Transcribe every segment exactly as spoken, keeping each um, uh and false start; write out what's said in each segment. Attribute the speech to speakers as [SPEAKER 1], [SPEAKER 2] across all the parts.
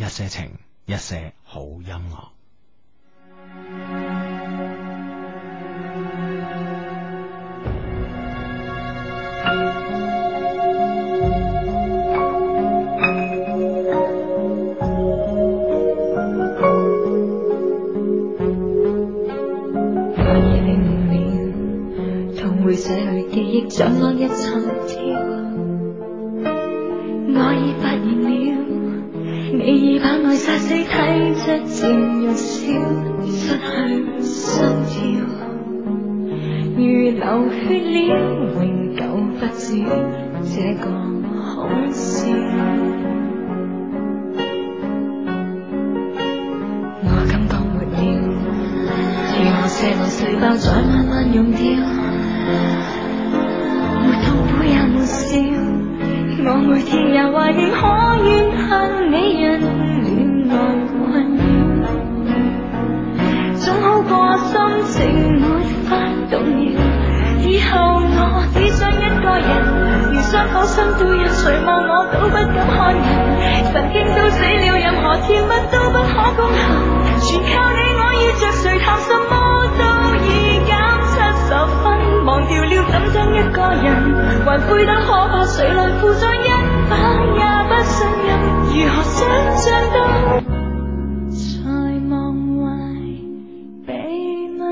[SPEAKER 1] 一些情，一些好音樂。
[SPEAKER 2] 會捨去記憶，像按日尋跳。我已發現了，你已把愛殺死，體質漸弱小，失去心跳。如流血了，永久不止這個好笑。我感覺沒了，如我卸落細胞，再慢慢溶掉。沒痛苦也沒笑，我每天也懷念，可怨恨你人戀愛困擾，總好過心情沒法動搖。以後我只想一個人，連傷口心都有，誰望我都不敢看人，神經都死了，任何甜蜜都不可攻陷，全靠你，我要着誰談什麼都已減七十分，忘掉了怎將一個人還灰得可怕，誰來負載一把也不信任，如何想象到才忘懷秘密。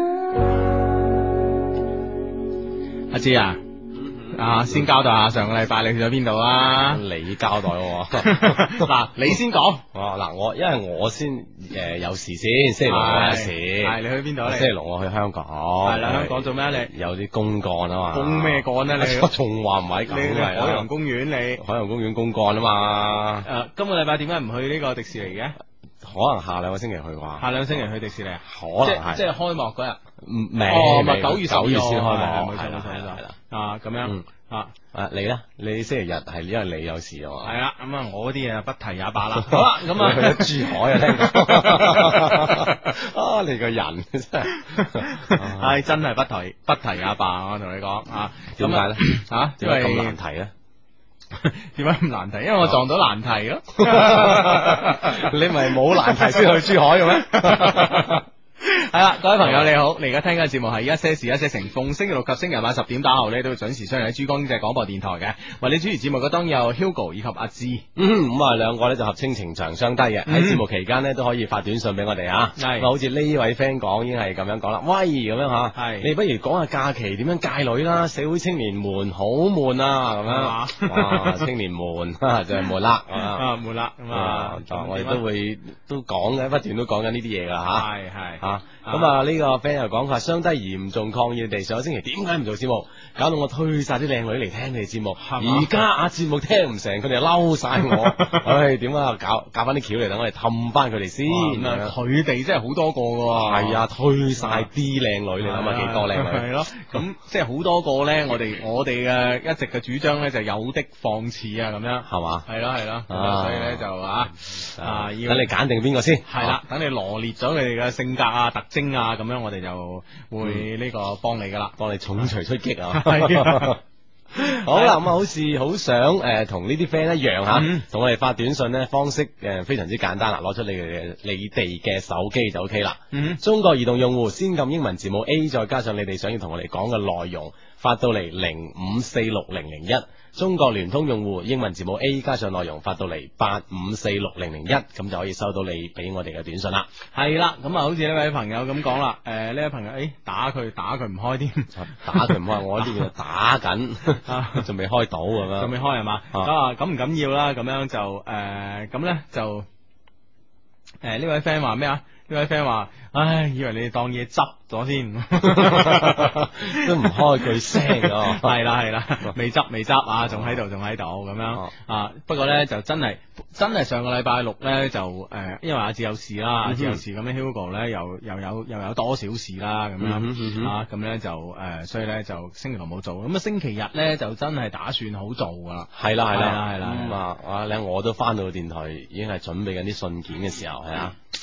[SPEAKER 1] 阿芝啊，啊先交代下上個禮拜你去咗邊度啊？
[SPEAKER 3] 你交代喎，
[SPEAKER 1] 嗱你先講。
[SPEAKER 3] 哦嗱我因為我先誒、呃、有事先，星期六我有事。
[SPEAKER 1] 係你去邊度咧？
[SPEAKER 3] 星期六我去香港。
[SPEAKER 1] 係啦，香港做咩你？
[SPEAKER 3] 有啲公幹啊嘛。
[SPEAKER 1] 公咩幹咧？你
[SPEAKER 3] 我仲話唔係咁
[SPEAKER 1] 你
[SPEAKER 3] 係
[SPEAKER 1] 海洋公園你？
[SPEAKER 3] 海洋公園公幹啊嘛。
[SPEAKER 1] 誒，今個禮拜點解唔去呢個迪士尼嘅？
[SPEAKER 3] 可能下兩個星期去啩。
[SPEAKER 1] 下兩個星期去迪士尼啊？
[SPEAKER 3] 可能係。
[SPEAKER 1] 即係開幕嗰日。
[SPEAKER 3] 唔未。
[SPEAKER 1] 哦，咪九月
[SPEAKER 3] 九月先開幕。
[SPEAKER 1] 冇錯冇錯冇錯。啊，咁樣。啊，
[SPEAKER 3] 誒你咧？你星期日係因為你有事啊嘛？
[SPEAKER 1] 係啦，咁啊我啲嘢不提也罷啦。好啦，咁啊
[SPEAKER 3] 去咗珠海啊，聽講。啊，你個人真係，
[SPEAKER 1] 係真係不提不提也罷，我同你講啊。
[SPEAKER 3] 點解咧？
[SPEAKER 1] 吓，
[SPEAKER 3] 點解咁難提咧？
[SPEAKER 1] 點解咁難提？因為我撞到難題咯。
[SPEAKER 3] 你咪冇難題先去珠海嘅咩？
[SPEAKER 1] 係啦，各位朋友你好，你而家聽緊嘅節目係一些事一些情，逢星期六及星期日晚十點打後咧都會準時出現喺珠江經濟廣播電台嘅。為你主持節目嘅當然有 Hugo 以及阿芝。
[SPEAKER 3] 嗯，咁啊兩個咧就合稱情長相低嘅，喺節目期間咧都可以發短信俾我哋啊。係，好似呢位 friend 講已經係咁樣講啦，喂咁樣吓，係，你不如講下假期點樣戒女啦，社會青年們好悶啊，咁樣，哇，青年悶就係悶啦，
[SPEAKER 1] 啊悶啦，咁啊，
[SPEAKER 3] 我哋都會都講嘅，不斷都講緊呢啲嘢噶吓，
[SPEAKER 1] 係係
[SPEAKER 3] 吓。咁啊呢個 friend 又講佢話相低嚴重抗議你哋上個星期點解唔做節目，搞到我推晒啲靚女嚟聽你哋節目，而家啊節目聽唔成，佢哋又嬲晒我，唉點啊搞搞翻啲橋嚟等我哋氹翻佢哋先，
[SPEAKER 1] 佢哋真係好多個噶，
[SPEAKER 3] 係啊推晒啲靚女，你諗下幾多靚女？
[SPEAKER 1] 係咯，咁即係好多個咧，我哋我哋嘅一直嘅主張咧就有的放矢啊，咁樣係嘛？係咯係咯，所以咧就啊啊要
[SPEAKER 3] 等你揀定邊個先，
[SPEAKER 1] 係啦，等你羅列咗佢哋嘅性格啊特徵啊，咁樣我哋就會呢個幫你噶啦，
[SPEAKER 3] 幫你重錘出擊啊！好啦，咁啊，好似好想誒同呢啲 friend 一樣吓，同我哋發短信咧方式誒非常之簡單啦，攞出你嘅你哋嘅手機就 OK 啦。嗯，中國移動用戶先撳英文字母 A， 再加上你哋想要同我哋講嘅內容，發到嚟零五四六零零一。中國聯通用戶英文字母 A 加上內容發到嚟八五四六零零一，咁就可以收到你俾我哋嘅短信啦。
[SPEAKER 1] 係啦，咁啊，好似呢位朋友咁講啦，誒、呃，呢位朋友，誒、欸，打佢打佢唔開添，
[SPEAKER 3] 打佢唔開，我呢邊打緊，仲未開到咁樣，
[SPEAKER 1] 仲未開係嘛？咁啊，咁唔緊要啦，咁樣就誒，咁、呃、咧就誒呢、呃、位 friend 話咩啊？呢位 friend 話，唉，以為你哋當嘢執咗先，
[SPEAKER 3] 都唔開句聲啊！
[SPEAKER 1] 係啦係啦，未執未執啊，仲喺度仲喺度咁樣啊。不過咧就真係真係上個禮拜六咧就誒、呃，因為阿志有事啦，阿志有事咁樣 Hugo 咧又又有又有多少事啦咁樣、嗯嗯、啊，咁咧就誒、呃，所以咧就星期六冇做，咁啊星期日咧就真係打算好做噶啦。
[SPEAKER 3] 係啦係啦
[SPEAKER 1] 係啦
[SPEAKER 3] 咁啊，哇！咧我都翻到電台已經係準備緊啲信件嘅時候係啊。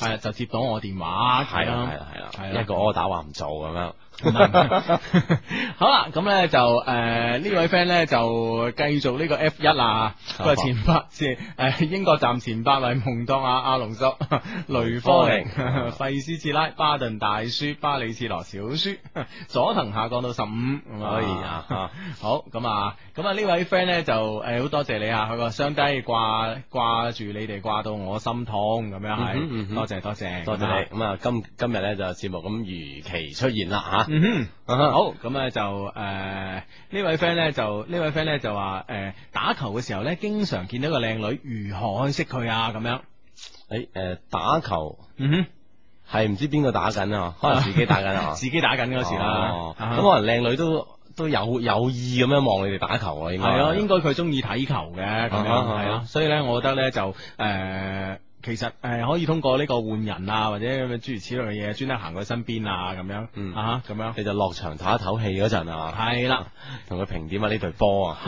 [SPEAKER 1] 係就接到我電話，
[SPEAKER 3] 係啦係啦係啦，一個 order 話唔做咁樣。
[SPEAKER 1] 好啦，咁咧就誒、呃、呢位 friend 咧就繼續呢個 F 一啦，佢話前八即係誒英國站前八位蒙當亞、阿隆索、雷科寧、費斯切拉、巴頓大叔、巴里切羅小叔、佐藤下降到十五，可以啊，好咁啊，咁啊呢位 friend 咧就誒好多謝你啊，佢話雙低掛掛住你哋掛到我心痛咁樣係、嗯嗯嗯，多謝多謝
[SPEAKER 3] 多謝你，咁啊今今日咧就節目咁如期出現啦吓。
[SPEAKER 1] 嗯哼，好，咁咧就誒、呃、呢位 friend 咧就呢位 friend 咧就話誒、呃、打球嘅時候咧，經常見到個靚女，如何可以識佢啊？咁樣，誒、
[SPEAKER 3] 欸、誒、呃、打球，
[SPEAKER 1] 嗯哼，
[SPEAKER 3] 係唔知邊個打緊啊？可能自己打緊啊，
[SPEAKER 1] 自己打緊嗰時啦。咁、
[SPEAKER 3] 哦啊、可能靚女都都有有意咁樣望你哋打球啊？應該
[SPEAKER 1] 係咯，應該佢中意睇球嘅咁樣，係咯、啊。所以咧，我覺得咧就誒。呃其實誒、呃、可以通過呢個換人啊，或者諸如此類嘅嘢，專登行佢身邊啊，咁樣，嗯啊咁樣，
[SPEAKER 3] 你就落場唞一唞氣嗰陣啊，
[SPEAKER 1] 係啦，
[SPEAKER 3] 同佢評點下呢隊波啊，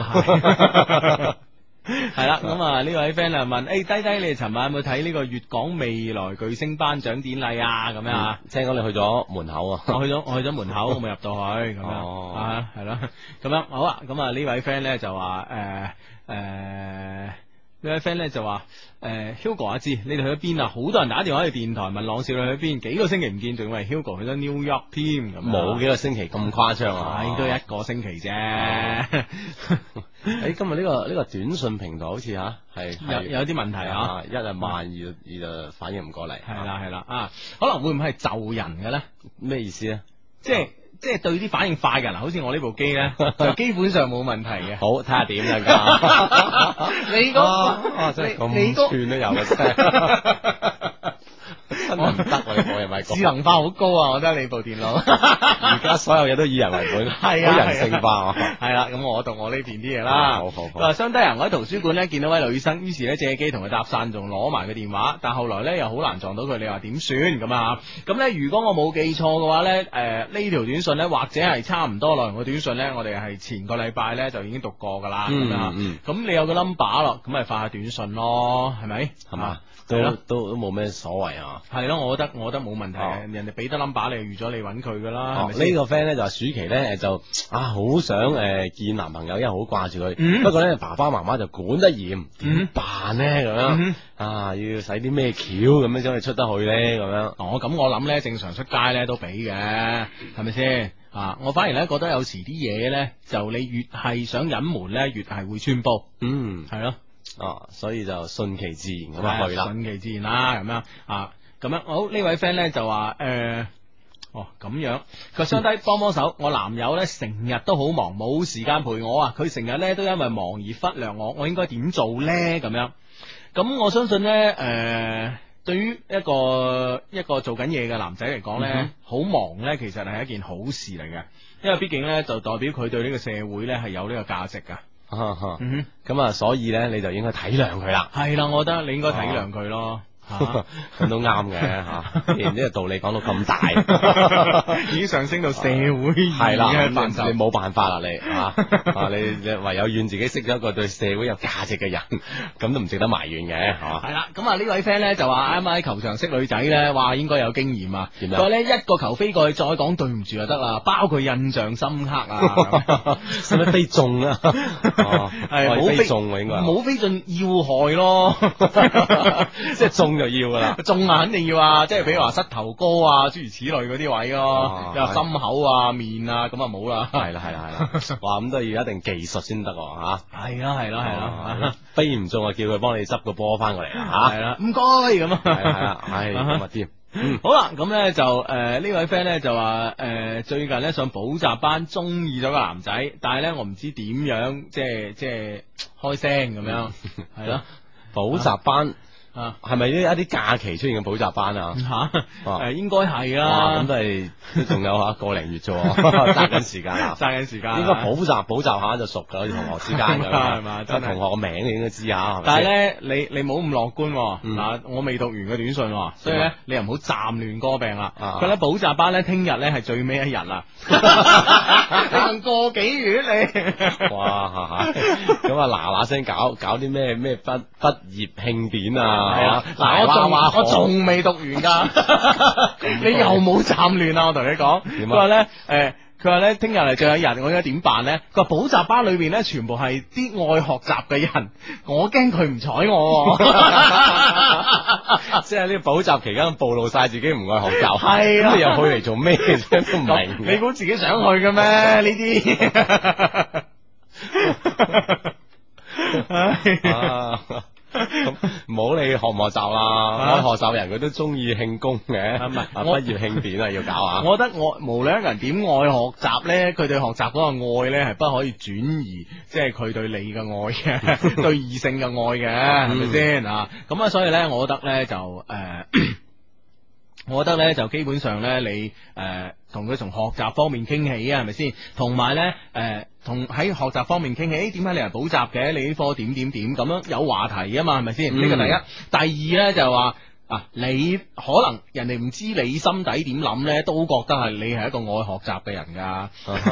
[SPEAKER 1] 係啦，咁啊呢位 friend 啊問，誒、欸、低低你哋尋晚有冇睇呢個粵港未來巨星頒獎典禮啊？咁樣啊，
[SPEAKER 3] 聽講你去咗門口啊，
[SPEAKER 1] 我去咗我去咗門口，我未入到去，咁樣、哦、啊係咯，咁樣好啊，咁啊呢位 friend 咧就話誒誒。呢位 friend 咧就話誒 Hugo 阿志，你哋去咗邊啊？好多人打電話去電台問朗少你去邊，幾個星期唔見，仲以為 Hugo 去咗 New York 添，咁
[SPEAKER 3] 冇幾個星期咁誇張啊，
[SPEAKER 1] 應該一個星期啫。
[SPEAKER 3] 誒、欸，今日呢、這個呢、這個短信平台好似吓係
[SPEAKER 1] 有有啲問題啊，
[SPEAKER 3] 一係慢，二二就反應唔過嚟。
[SPEAKER 1] 係啦係啦啊，可能會唔會係就人嘅咧？
[SPEAKER 3] 咩意思咧？
[SPEAKER 1] 即係。即係對啲反應快嘅人，好似我呢部機咧，就基本上冇問題嘅。
[SPEAKER 3] 好，睇下點啦，
[SPEAKER 1] 你嗰，
[SPEAKER 3] 真係咁串都有嘅啫。真係唔得喎！我又咪講
[SPEAKER 1] 智能化好高啊！我覺得你部電腦
[SPEAKER 3] 而家所有嘢都以人為本，係啊，好人性化。
[SPEAKER 1] 係啦，咁我讀我呢邊啲嘢啦。
[SPEAKER 3] 好好好。
[SPEAKER 1] 話相低人，我喺圖書館咧見到位女生，於是咧借機同佢搭訕，仲攞埋個電話。但後來咧又好難撞到佢，你話點算咁啊？咁咧如果我冇記錯嘅話咧，誒呢條短信咧或者係差唔多內容嘅短信咧，我哋係前個禮拜咧就已經讀過噶啦。咁啊，咁你有個 number 咯，咁咪發下短信咯，係咪？係嘛？
[SPEAKER 3] 都都都冇咩所謂啊。
[SPEAKER 1] 係咯，我覺得我覺得冇問題嘅、哦，人哋俾得 number 你預咗你揾佢噶啦。
[SPEAKER 3] 哦，呢、呢個 friend 咧就話暑期咧就啊好想誒、呃、見男朋友，因為好掛住佢。
[SPEAKER 1] 嗯、
[SPEAKER 3] 不過咧爸爸媽媽就管得嚴，點辦咧咁樣、
[SPEAKER 1] 嗯、
[SPEAKER 3] 啊？要使啲咩橋咁樣先可以出得去咧咁樣？
[SPEAKER 1] 哦，咁我諗咧正常出街咧都俾嘅，係咪先？啊，我反而咧覺得有時啲嘢咧就你越係想隱瞞咧，越係會穿煲。
[SPEAKER 3] 嗯，
[SPEAKER 1] 係咯。
[SPEAKER 3] 哦，所以就順其自然咁樣去啦，
[SPEAKER 1] 順其自然啦，咁樣啊，咁樣好。呢位 friend 咧就話誒、呃，哦咁樣，佢相低幫幫手，我男友咧成日都好忙，冇時間陪我啊，佢成日咧都因為忙而忽略我，我應該點做咧？咁樣，咁我相信咧誒、呃，對於一個一個做緊嘢嘅男仔嚟講咧，好、嗯、忙咧，其實係一件好事嚟嘅，因為畢竟咧就代表佢對呢個社會咧係有呢個價值噶。
[SPEAKER 3] 啊哈，嗯哼，咁啊，所以咧，你就應該體諒佢啦。
[SPEAKER 1] 係啦，我覺得你應該體諒佢咯。咁、啊、
[SPEAKER 3] 都啱嘅吓，既然呢個道理講到咁大，
[SPEAKER 1] 已經上升到社會係啦，
[SPEAKER 3] 你冇辦法啦，你啊，啊你你唯有怨自己識咗一個對社會有價值嘅人，咁都唔值得埋怨嘅，係嘛？
[SPEAKER 1] 係啦，咁啊呢位 friend 咧就話啱啱喺球場識女仔咧，話應該有經驗啊。
[SPEAKER 3] 點樣？
[SPEAKER 1] 佢話咧一個球飛過去，再講對唔住就得啦，包佢印象深刻啊。
[SPEAKER 3] 使乜飛中啊？哦，係冇飛中應該，
[SPEAKER 1] 冇飛進要害咯，
[SPEAKER 3] 即係中。就要噶啦，
[SPEAKER 1] 中啊肯定要啊，即係比如話膝頭哥啊，諸如此類嗰啲位咯，又心口啊、面啊，咁啊冇啦。係啦係啦係啦，
[SPEAKER 3] 哇咁都要一定技術先得吓。係
[SPEAKER 1] 啦係啦係啦，
[SPEAKER 3] 飛唔中啊，叫佢幫你執個波翻過嚟啊。
[SPEAKER 1] 係啦，唔該咁啊。係
[SPEAKER 3] 啦係啦，係咁啊添。
[SPEAKER 1] 嗯，好啦，咁咧就誒、呃、呢位 friend 咧就話誒、呃、最近咧上補習班，中意咗個男仔，但係咧我唔知點樣即係即係開聲咁樣，係咯
[SPEAKER 3] 補習班。
[SPEAKER 1] 啊，
[SPEAKER 3] 係咪呢一啲假期出現嘅補習班啊？
[SPEAKER 1] 吓、啊，誒、啊，應該係啦。
[SPEAKER 3] 咁都係都仲有吓個零月啫，揸緊時間啦，
[SPEAKER 1] 揸緊時間。
[SPEAKER 3] 應該補習補習下就熟噶，好似同學之間咁
[SPEAKER 1] 係嘛？真係
[SPEAKER 3] 同學個名你應該知下。
[SPEAKER 1] 但係咧，你你冇咁樂觀。嗱、嗯，我未讀完個短信，所以咧你又唔好暫亂歌病啦。佢咧補習班咧，聽日咧係最尾一日啦。你仲過幾月你？
[SPEAKER 3] 哇！咁啊嗱嗱聲搞搞啲咩咩畢畢業慶典啊！ 係
[SPEAKER 1] 啊，嗱，我仲我仲未讀完㗎，你又冇斬亂啊！我同你講，佢話咧誒。佢話咧，聽日嚟最後一日，我應該點辦咧？佢話補習班裏邊咧，全部係啲愛學習嘅人，我驚佢唔睬我。
[SPEAKER 3] 即係呢個補習期間暴露晒自己唔愛學習，
[SPEAKER 1] 係啊，
[SPEAKER 3] 咁你又去嚟做咩啫？都唔明。
[SPEAKER 1] 你估自己想去嘅咩？呢啲。
[SPEAKER 3] 咁唔好理學唔學習啦，愛學習人佢都中意慶功嘅，係咪？畢業慶典啊，要搞啊！
[SPEAKER 1] 我覺得我無論一個人點愛學習咧，佢對學習嗰個愛咧係不可以轉移，即係佢對你嘅愛嘅，對異性嘅愛嘅，係咪先啊？咁啊，所以咧，我覺得咧就誒。呃我覺得咧就基本上咧，你誒同佢從學習方面傾起啊，係咪先？同埋咧誒，同喺學習方面傾起，點解你係補習嘅？你呢科點點點咁樣有話題啊嘛，係咪先？呢個、嗯、第一，第二咧就係話啊，你可能人哋唔知你心底點諗咧，都覺得係你係一個愛學習嘅人噶。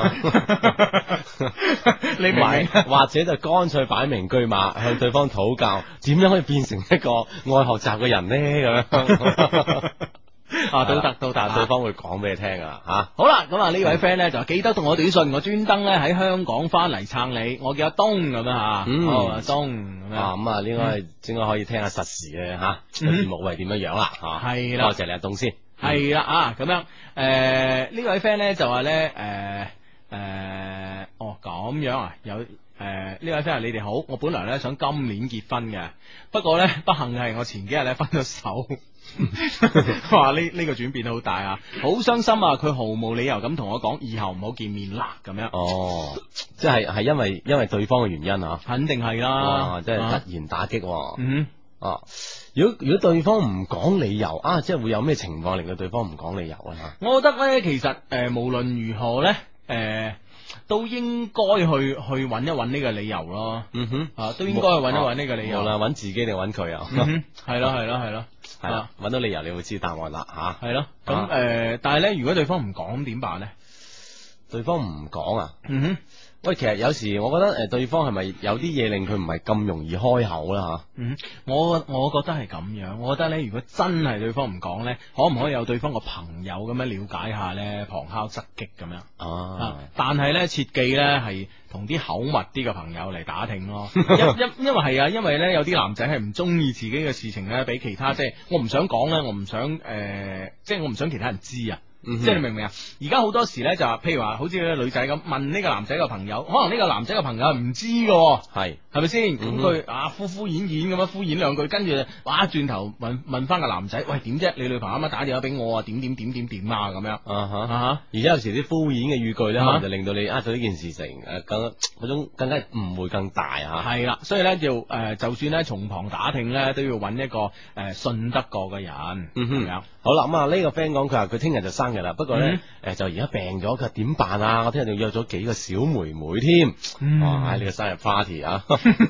[SPEAKER 1] 你明唔明？
[SPEAKER 3] 或者就乾脆擺明車馬向對方討教，點樣可以變成一個愛學習嘅人咧？咁樣。啊，都得都得，對方會講俾你聽噶吓。
[SPEAKER 1] 好啦，咁啊呢位 friend 咧就記得同我短信，我專登咧喺香港翻嚟撐你，我叫阿東咁樣吓。嗯，阿東咁樣。啊，咁啊應該應該可以聽下實時嘅吓節目係點樣樣啦吓。係啦，多謝你阿東先。係啦啊，咁樣誒呢位 friend 咧就話咧誒誒哦咁樣啊有。誒，呢位 friend 你哋好，我本來咧想今年結婚嘅，不過咧不幸係我前幾日咧分咗手，哇！呢呢個轉變好大啊，好傷心啊！佢毫無理由咁同我講，以後唔好見面啦，咁樣。哦，
[SPEAKER 3] 即係係因為因為對方嘅原因啊，
[SPEAKER 1] 肯定係啦，
[SPEAKER 3] 即係突然打擊。
[SPEAKER 1] 嗯，
[SPEAKER 3] 哦，如果如果對方唔講理由啊，即係會有咩情況令到對方唔講理由啊？
[SPEAKER 1] 我覺得咧，其實誒，無論如何咧，誒。都應該去去揾一揾呢個理由咯，嗯哼，啊，都應該去揾一揾呢個理由，
[SPEAKER 3] 無論揾自己定揾佢啊，
[SPEAKER 1] 係咯係咯係咯，係啦，
[SPEAKER 3] 揾到理由你會知答案啦吓，
[SPEAKER 1] 係咯，咁誒，但係咧，如果對方唔講點辦咧？
[SPEAKER 3] 對方唔講啊，
[SPEAKER 1] 嗯哼。
[SPEAKER 3] 喂，其實有時我覺得誒，對方係咪有啲嘢令佢唔係咁容易開口啦吓？
[SPEAKER 1] 嗯，我我覺得係咁樣，我覺得咧，如果真係對方唔講咧，可唔可以有對方個朋友咁樣了解下咧，旁敲側擊咁樣？哦、啊，但係咧，切記咧係同啲口密啲嘅朋友嚟打聽咯，因因因為係啊，因為咧有啲男仔係唔中意自己嘅事情咧，俾其他即係我唔想講咧，我唔想誒、呃，即係我唔想其他人知啊。嗯、即係你明唔明啊？而家好多時咧就話，譬如話好似個女仔咁問呢個男仔嘅朋友，可能呢個男仔嘅朋友係唔知嘅，係係咪先？咁佢、嗯、啊敷敷衍衍咁樣敷衍兩句，跟住哇轉頭問問翻個男仔，喂點啫？你女朋友啱啱打電話俾我啊？點點點點點啊咁樣啊哈啊哈！而家有時啲敷衍嘅語句咧，可能就令到你呃咗呢件事情誒，更嗰種更加誤會更大啊！係啦，所以咧要誒，就算咧從旁打聽咧，都要揾一個誒、呃、信得過嘅人。嗯哼，樣好啦，咁啊呢個 friend 講佢話佢聽日就生日啦，不過咧誒、嗯呃、就而家病咗，佢點辦啊？我聽日仲約咗幾個小妹妹添，嗯、哇！呢個生日 party 啊，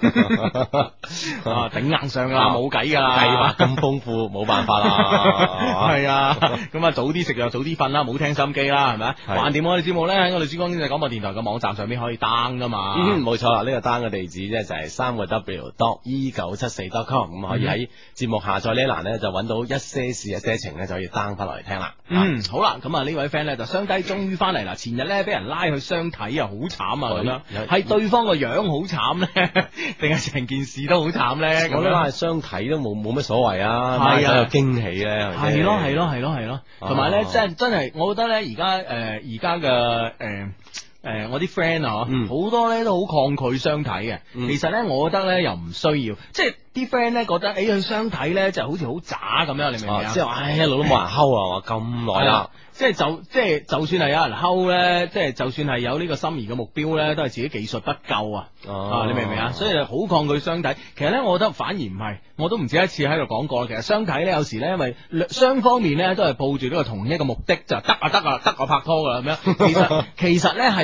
[SPEAKER 1] 啊頂硬上啊，冇計噶啦，計劃咁豐富，冇辦法啦，係啊，咁啊早啲食又早啲瞓啦，冇聽心機啦，係咪？橫掂我哋節目咧喺我哋珠江經濟廣播電台嘅網站上邊可以 down 噶嘛，嗯，冇錯啦，呢、這個 down 嘅地址咧就係三個 w dot e 九七四 dot com，咁可以喺節目下載呢一欄咧就揾到一些事一些情咧就可以 down 翻落嚟聽啦。嗯，好啦，咁啊呢位 friend 咧就雙低終於翻嚟啦，前日咧俾人拉去相睇啊，好慘啊咁樣，係對方個樣好慘咧，定係成件事都好慘咧？我覺得係相睇都冇冇乜所謂啊，係啊，有驚喜咧，係咯係咯係咯係咯，同埋咧真真係，我覺得咧而家誒而家嘅誒。誒、呃，我啲 friend 啊，好、嗯、多咧都好抗拒相睇嘅。嗯、其實咧，我覺得咧又唔需要，即係啲 friend 咧覺得，誒、欸、去相睇咧就好似好渣咁樣，你明唔明啊？即係話，唉，一路都冇人睺啊，話咁耐啦。即係就即係就算係有人睺咧，即係就算係有呢個心儀嘅目標咧，都係自己技術不夠啊！啊，你明唔明啊？所以好抗拒相睇。其實咧，我覺得反而唔係，我都唔止一次喺度講過。其實相睇咧，有時咧，因為雙方面咧都係抱住呢個同一個目的，就得啊得啊得啊拍拖噶啦咁樣。其實其實咧係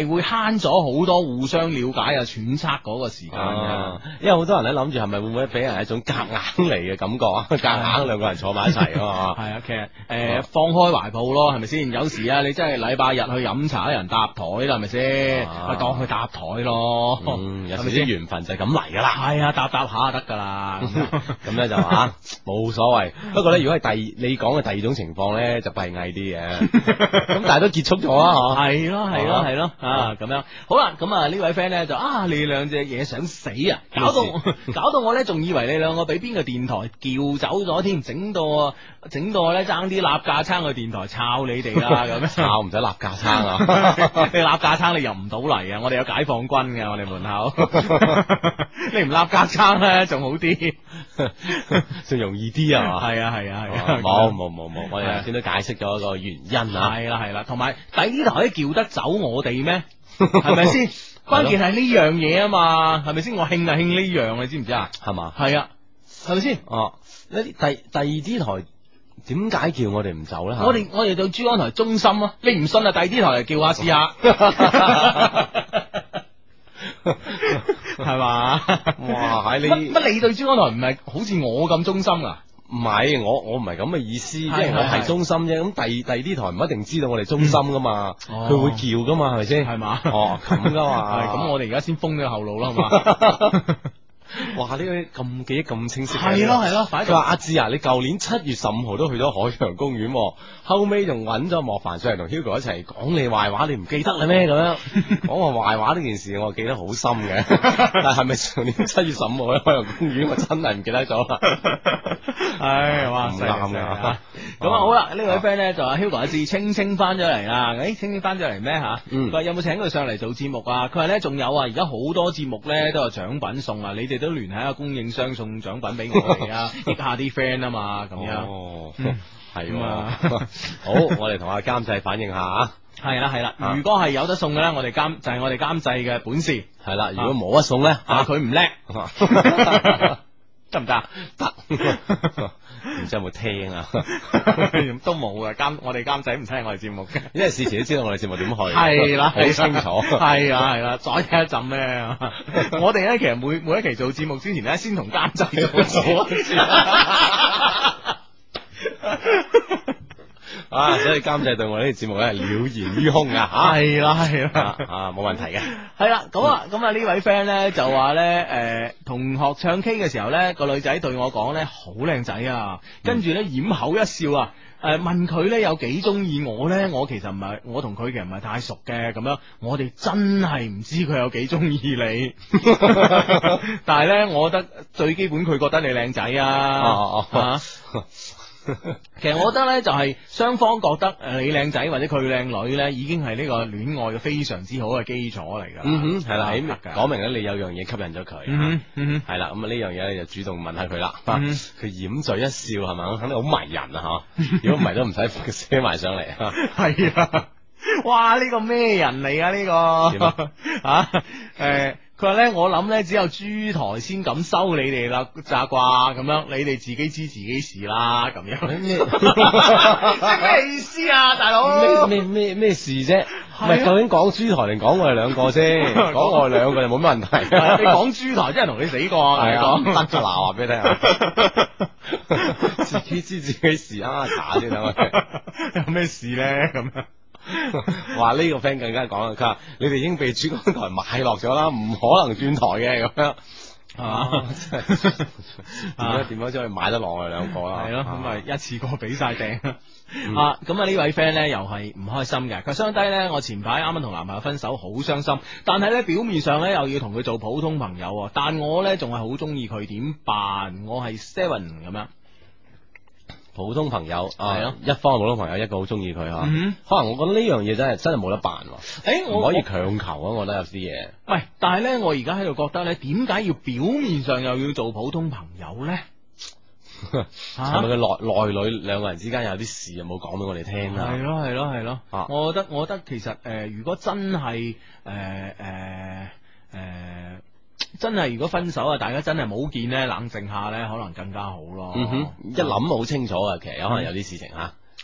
[SPEAKER 1] 係會慳咗好多互相了解啊、揣測嗰個時間嘅。
[SPEAKER 3] 因為好多人咧諗住係咪會唔會俾人一種夾硬嚟嘅感覺啊？夾硬兩個人坐埋一齊啊嘛。
[SPEAKER 1] 係啊，其實誒放開懷抱咯，係咪先？有時啊，你真係禮拜日去飲茶，人搭台啦，係咪先？咪當佢搭台咯。
[SPEAKER 3] 嗯，有時啲緣分就係咁嚟噶啦。
[SPEAKER 1] 係啊，搭搭下就得噶啦。
[SPEAKER 3] 咁咧就話冇所謂。不過咧，如果係第你講嘅第二種情況咧，就閉翳啲嘅。咁但係都結束咗啊！
[SPEAKER 1] 係咯，係咯，係咯啊！咁樣好啦，咁啊呢位 friend 咧就啊，你兩隻嘢想死啊！搞到搞到我咧，仲以為你兩個俾邊個電台叫走咗添，整到整到我咧爭啲立架撐去電台抄你哋啦咁樣。
[SPEAKER 3] 抄唔使立架撐啊！
[SPEAKER 1] 你立架撐你入唔到嚟啊！我哋有解放軍嘅，我哋門口。你唔立架撐咧，仲好啲，
[SPEAKER 3] 仲容易啲啊！
[SPEAKER 1] 係啊，係啊，係啊！
[SPEAKER 3] 冇冇冇冇，我哋頭先都解釋咗一個原因啊！
[SPEAKER 1] 係啦，係啦，同埋第呢台叫得走我哋咩？係咪先？關鍵係呢樣嘢啊嘛，係咪先？我興啊興呢樣，你知唔知啊？
[SPEAKER 3] 係嘛？
[SPEAKER 1] 係啊，係咪先？
[SPEAKER 3] 哦，呢第第二啲台點解叫我哋唔走咧？
[SPEAKER 1] 我哋我哋對珠江台忠心啊！你唔信啊？第二啲台嚟叫下試下，係嘛？
[SPEAKER 3] 哇！喺你
[SPEAKER 1] 乜乜你對珠江台唔係好似我咁忠心啊？
[SPEAKER 3] 唔係，我我唔係咁嘅意思，即係
[SPEAKER 1] 係
[SPEAKER 3] 我係忠心啫。咁第第二啲台唔一定知道我哋忠心噶嘛，佢會叫噶嘛，係咪先？
[SPEAKER 1] 係嘛？
[SPEAKER 3] 哦，咁噶嘛。
[SPEAKER 1] 係咁，我哋而家先封咗後路啦，好嘛？
[SPEAKER 3] 哇！呢個咁記憶咁清晰。
[SPEAKER 1] 係咯係咯，
[SPEAKER 3] 佢話阿志啊，你舊年七月十五號都去咗海洋公園，後尾仲揾咗莫凡上嚟同 Hugo 一齊講你壞話，你唔記得啦咩？咁樣講我壞話呢件事，我記得好深嘅。但係咪上年七月十五號喺海洋公園，我真係唔記得咗啦。
[SPEAKER 1] 唉，哇，
[SPEAKER 3] 唔啱嘅。
[SPEAKER 1] 咁啊好啦，呢位 friend 咧就話 Hugo 阿志青青翻咗嚟啦。誒，青青翻咗嚟咩吓？佢話有冇請佢上嚟做節目啊？佢話咧仲有啊，而家好多節目咧都有獎品送啊，你哋都聯繫下供應商送獎品俾我哋啊，益下啲 friend 啊嘛，咁樣。
[SPEAKER 3] 哦，係啊。好，我哋同阿監製反映下啊。
[SPEAKER 1] 係啦係啦，如果係有得送嘅咧，我哋監就係我哋監製嘅本事。
[SPEAKER 3] 係啦，如果冇得送咧，
[SPEAKER 1] 啊佢唔叻。得唔得？得，
[SPEAKER 3] 唔知有冇聽啊？
[SPEAKER 1] 都冇啊！監我哋監仔唔聽我哋節目嘅，
[SPEAKER 3] 因為事前都知道我哋節目點去，
[SPEAKER 1] 係啦，
[SPEAKER 3] 好清楚，
[SPEAKER 1] 係啊係啦，再聽一陣咧。我哋咧其實每每一期做節目之前咧，先同監製做咗。
[SPEAKER 3] 啊，所以監製對我呢個節目咧係了然於胸啊，吓
[SPEAKER 1] 係啦係啦，
[SPEAKER 3] 啊冇問題嘅，
[SPEAKER 1] 係啦，咁啊咁啊呢位 friend 咧就話咧，誒同學唱 K 嘅時候咧，個女仔對我講咧好靚仔啊，跟住咧掩口一笑啊，誒問佢咧有幾中意我咧，我其實唔係，我同佢其實唔係太熟嘅，咁樣我哋真係唔知佢有幾中意你，但係咧我覺得最基本佢覺得你靚仔啊，
[SPEAKER 3] 哦哦。
[SPEAKER 1] 其實我覺得咧，就係雙方覺得誒你靚仔或者佢靚女咧，已經係呢個戀愛嘅非常之好嘅基礎嚟噶。
[SPEAKER 3] 嗯哼，係啦，起講明咧，你有樣嘢吸引咗佢。
[SPEAKER 1] 嗯嗯，
[SPEAKER 3] 係啦，咁啊呢樣嘢你就主動問下佢啦。佢掩嘴一笑係咪？肯定好迷人啊！吓，如果唔係都唔使寫埋上嚟。
[SPEAKER 1] 係啊，哇！呢個咩人嚟啊？呢個啊誒。佢話咧，我諗咧只有珠台先敢收你哋啦，咋啩咁樣？你哋自己知自己事啦，咁樣咩咩意思啊，大佬？
[SPEAKER 3] 咩咩咩咩事啫？唔係究竟講珠台定講我哋兩個先？講我哋兩個就冇乜問題。
[SPEAKER 1] 你講珠台真係同你死過，係啊，得就嗱話俾你聽啊！
[SPEAKER 3] 自己知自己事啊，查先等我哋。
[SPEAKER 1] 有咩事咧？咁樣。
[SPEAKER 3] 話呢、這個 friend 更加講啦，佢話你哋已經被珠江台買落咗啦，唔可能轉台嘅咁樣，係嘛？點樣點樣先可以買得落我哋兩個啦？
[SPEAKER 1] 係咯，咁咪一次過俾晒訂啊！咁啊呢位 friend 咧又係唔開心嘅，佢相低咧，我前排啱啱同男朋友分手，好傷心，但係咧表面上咧又要同佢做普通朋友，但我咧仲係好中意佢，點辦？我係 seven 咁樣。
[SPEAKER 3] 普通朋友係咯，一方普通朋友，一個好中意佢吓，可能我覺得呢樣嘢真係真係冇得辦，誒，唔可以強求啊！我覺得有啲嘢，
[SPEAKER 1] 喂，但係咧，我而家喺度覺得咧，點解要表面上又要做普通朋友咧？
[SPEAKER 3] 係咪佢內內裏兩個人之間有啲事又冇講俾我哋聽啊？
[SPEAKER 1] 係咯係咯係咯，我覺得我覺得其實誒，如果真係誒誒誒。真係如果分手啊，大家真係冇見咧，冷靜下咧，可能更加好咯。
[SPEAKER 3] 嗯哼，一諗好清楚啊，其實有可能有啲事情吓。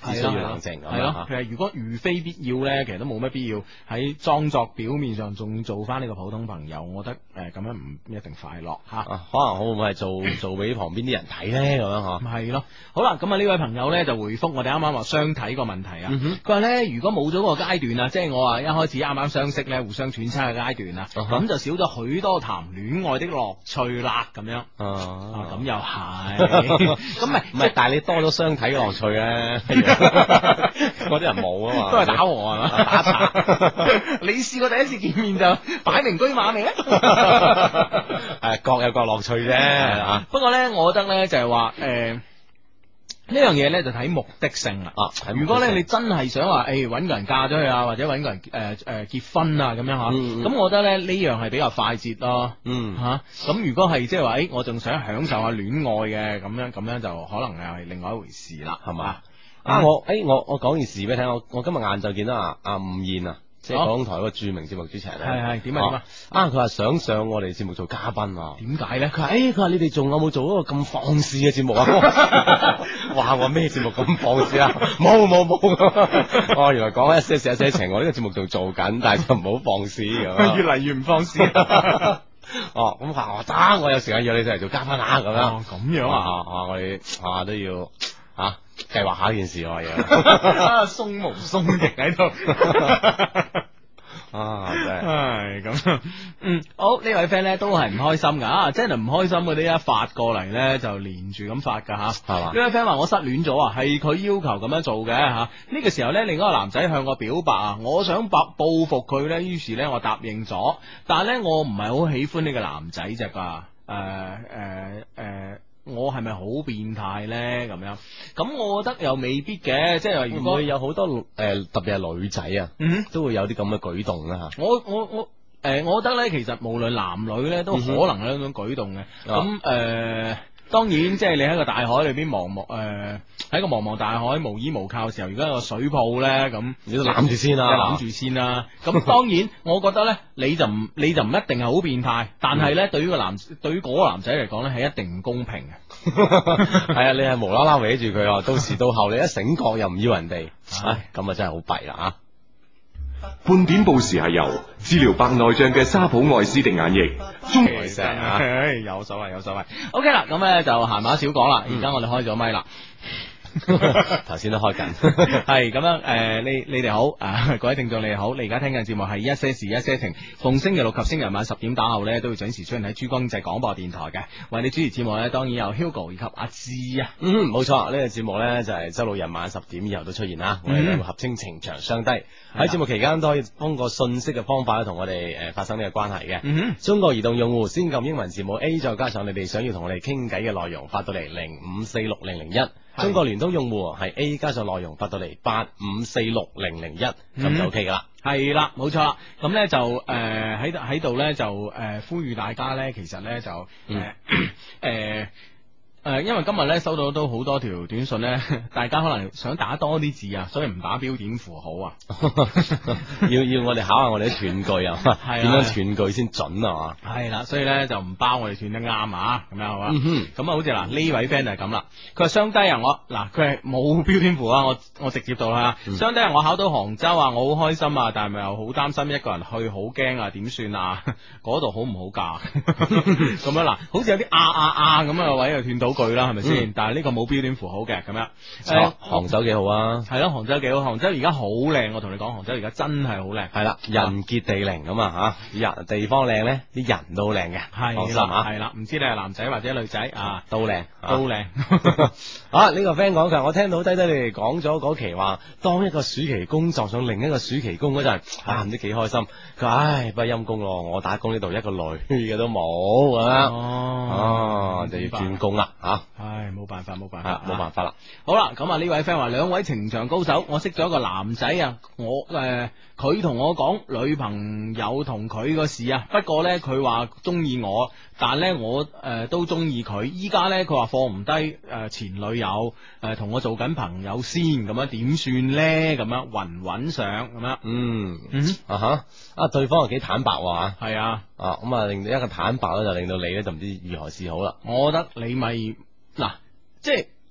[SPEAKER 3] 只需要冷靜。
[SPEAKER 1] 係咯，其實如果如非必要咧，其實都冇乜必要喺裝作表面上仲做翻呢個普通朋友。我覺得誒咁樣唔一定快樂嚇。
[SPEAKER 3] 啊，可能會唔會係做做俾旁邊啲人睇咧咁樣嗬？
[SPEAKER 1] 係咯，好啦，咁啊呢位朋友咧就回覆我哋啱啱話相睇個問題啊。佢話咧如果冇咗個階段啊，即係我話一開始啱啱相識咧，互相揣測嘅階段啊，咁就少咗許多談戀愛的樂趣啦，咁樣。啊，咁又係，咁咪
[SPEAKER 3] 唔係，但係你多咗相睇嘅樂趣咧，嗰啲人冇啊嘛，
[SPEAKER 1] 都係打和係嘛，打茶。你試過第一次見面就擺明車馬未咧？
[SPEAKER 3] 誒，各有各樂趣啫。啊，
[SPEAKER 1] 不過咧，我覺得咧就係話誒。呢樣嘢咧就睇目的性啦。啊，如果咧你真係想話，誒搵個人嫁咗去啊，或者搵個人誒誒、呃呃、結婚啊咁樣吓，咁、嗯嗯、我覺得咧呢樣係比較快捷咯。嗯吓，咁、啊、如果係即係話，誒、欸、我仲想享受下戀愛嘅，咁樣咁樣就可能又係另外一回事啦，係嘛？
[SPEAKER 3] 啊，我誒、欸、我我講件事俾你聽，我我今日晏晝見到阿阿吳燕啊。即係廣東台嗰個著名節目主持人咧，
[SPEAKER 1] 係係點啊點啊！
[SPEAKER 3] 啊，佢話想上我哋節目做嘉賓啊？
[SPEAKER 1] 點解咧？
[SPEAKER 3] 佢話誒，佢話你哋仲有冇做嗰個咁放肆嘅節目啊？哇！我咩節目咁放肆啊？冇冇冇！哦，原來講一些事一些情，我呢個節目仲做緊，但係就唔好放肆咁。
[SPEAKER 1] 越嚟越唔放肆。
[SPEAKER 3] 哦，咁話得，我有時間約你上嚟做嘉賓啊，咁樣。
[SPEAKER 1] 哦，咁樣啊？
[SPEAKER 3] 啊，我哋啊都要啊計劃下呢件事我嘢。
[SPEAKER 1] 啊，鬆毛鬆翼喺度。
[SPEAKER 3] 啊，真係，
[SPEAKER 1] 唉，咁，嗯，好，呢位 friend 咧都係唔開心噶，啊，真係唔開心嗰啲一發過嚟咧就連住咁發噶吓，係嘛？呢位 friend 話我失戀咗啊，係佢要求咁樣做嘅吓，呢、這個時候咧另一個男仔向我表白啊，我想報報復佢咧，於是咧我答應咗，但係咧我唔係好喜歡呢個男仔啫噶，誒誒誒。我係咪好變態咧？咁樣，咁我覺得又未必嘅，即係話如果
[SPEAKER 3] 會有好多誒、呃，特別係女仔啊，嗯，都會有啲咁嘅舉動啦吓。
[SPEAKER 1] 我我我誒、呃，我覺得咧，其實無論男女咧，都可能有呢種舉動嘅。咁誒、嗯。呃當然，即係你喺個大海裏邊茫茫誒，喺個茫茫大海無依無靠嘅時候，如果有個水泡咧，咁
[SPEAKER 3] 你都攬住先啦，
[SPEAKER 1] 攬住先啦。咁當然，我覺得咧，你就唔你就唔一定係好變態，但係咧，對於個男對於嗰個男仔嚟講咧，係一定唔公平嘅。
[SPEAKER 3] 係啊，你係無啦啦搲住佢，到時到後你一醒覺又唔要人哋，唉，咁啊真係好弊啦啊！
[SPEAKER 4] 半點報時係由治療白內障嘅沙普愛斯滴眼液，中
[SPEAKER 1] 其實啊，有所謂有所謂。OK 啦，咁咧就閒話少講啦，而家我哋開咗咪啦。
[SPEAKER 3] 頭先都開緊，
[SPEAKER 1] 係咁樣誒、呃，你你哋好啊，各位聽眾你哋好，你而家聽緊節目係一些事一些情，逢星期六及星期日晚十點打後咧都會準時出現喺珠江經濟廣播電台嘅，為你主持節目咧當然有 Hugo 以及阿芝啊，
[SPEAKER 3] 嗯，冇錯，呢、這個節目咧就係周六日晚十點以後都出現啦，我哋兩個合稱情長相低，喺節、嗯、目期間都可以通過信息嘅方法咧同我哋誒發生呢個關係嘅，嗯哼，中國移動用戶先撳英文字母 A， 再加上你哋想要同我哋傾偈嘅內容發到嚟零五四六零零一。中國聯通用戶係 A 加上內容發到嚟八五四六零零一，咁就 OK 噶啦。
[SPEAKER 1] 係啦，冇錯啦。咁咧就誒喺度喺度咧就誒、呃、呼籲大家咧，其實咧就誒誒。呃呃誒、呃，因為今日咧收到都好多條短信咧，大家可能想打多啲字啊，所以唔打標點符號啊，
[SPEAKER 3] 要要我哋考下我哋啲斷句啊，點樣斷句先準啊？
[SPEAKER 1] 係啦，所以咧就唔包我哋斷得啱啊，咁樣好嘛？咁啊、嗯，好似嗱呢位 friend 就係咁啦，佢話雙低啊，我嗱佢係冇標點符啊，我我直接到啦，雙低啊，我考到杭州啊，我好開心啊，但係咪又好擔心一個人去，好驚啊，點算啊？嗰度好唔好㗎？咁樣嗱，好似有啲啊啊啊咁嘅位又斷到句啦，係咪先？嗯、但係呢個冇標點符號嘅咁樣。誒、呃，
[SPEAKER 3] 杭州幾好啊？
[SPEAKER 1] 係咯，杭州幾好。杭州而家好靚，我同你講，杭州而家真係好靚。係啦，
[SPEAKER 3] 人傑地靈咁啊吓，人地方靚咧，啲人都靚嘅。係
[SPEAKER 1] 啦，係啦，唔知你係男仔或者女仔啊，
[SPEAKER 3] 都靚，
[SPEAKER 1] 都靚。
[SPEAKER 3] 啊，呢、這個 friend 講佢，我聽到低低你哋講咗嗰期話，當一個暑期工作上另一個暑期工嗰陣，啊唔知幾開心。佢話唉，不過陰公咯，我打工呢度一個女嘅都冇咁樣。哦，就要轉工啦吓。
[SPEAKER 1] 唉，冇辦法，冇辦法，
[SPEAKER 3] 冇辦法啦。
[SPEAKER 1] 好啦，咁啊呢位 friend 話兩位情場高手，我識咗一個男仔啊，我誒佢同我講女朋友同佢個事啊，不過咧佢話中意我，但咧我誒、呃、都中意佢。依家咧佢話放唔低誒前女友誒同、呃、我做緊朋友先，咁樣點算咧？咁樣穩唔穩上咁樣？嗯嗯
[SPEAKER 3] 啊哈啊對方又幾坦白喎。
[SPEAKER 1] 係啊
[SPEAKER 3] 啊咁啊令到一個坦白咧就令到你咧就唔知如何是好啦。
[SPEAKER 1] 我覺得你咪嗱即係。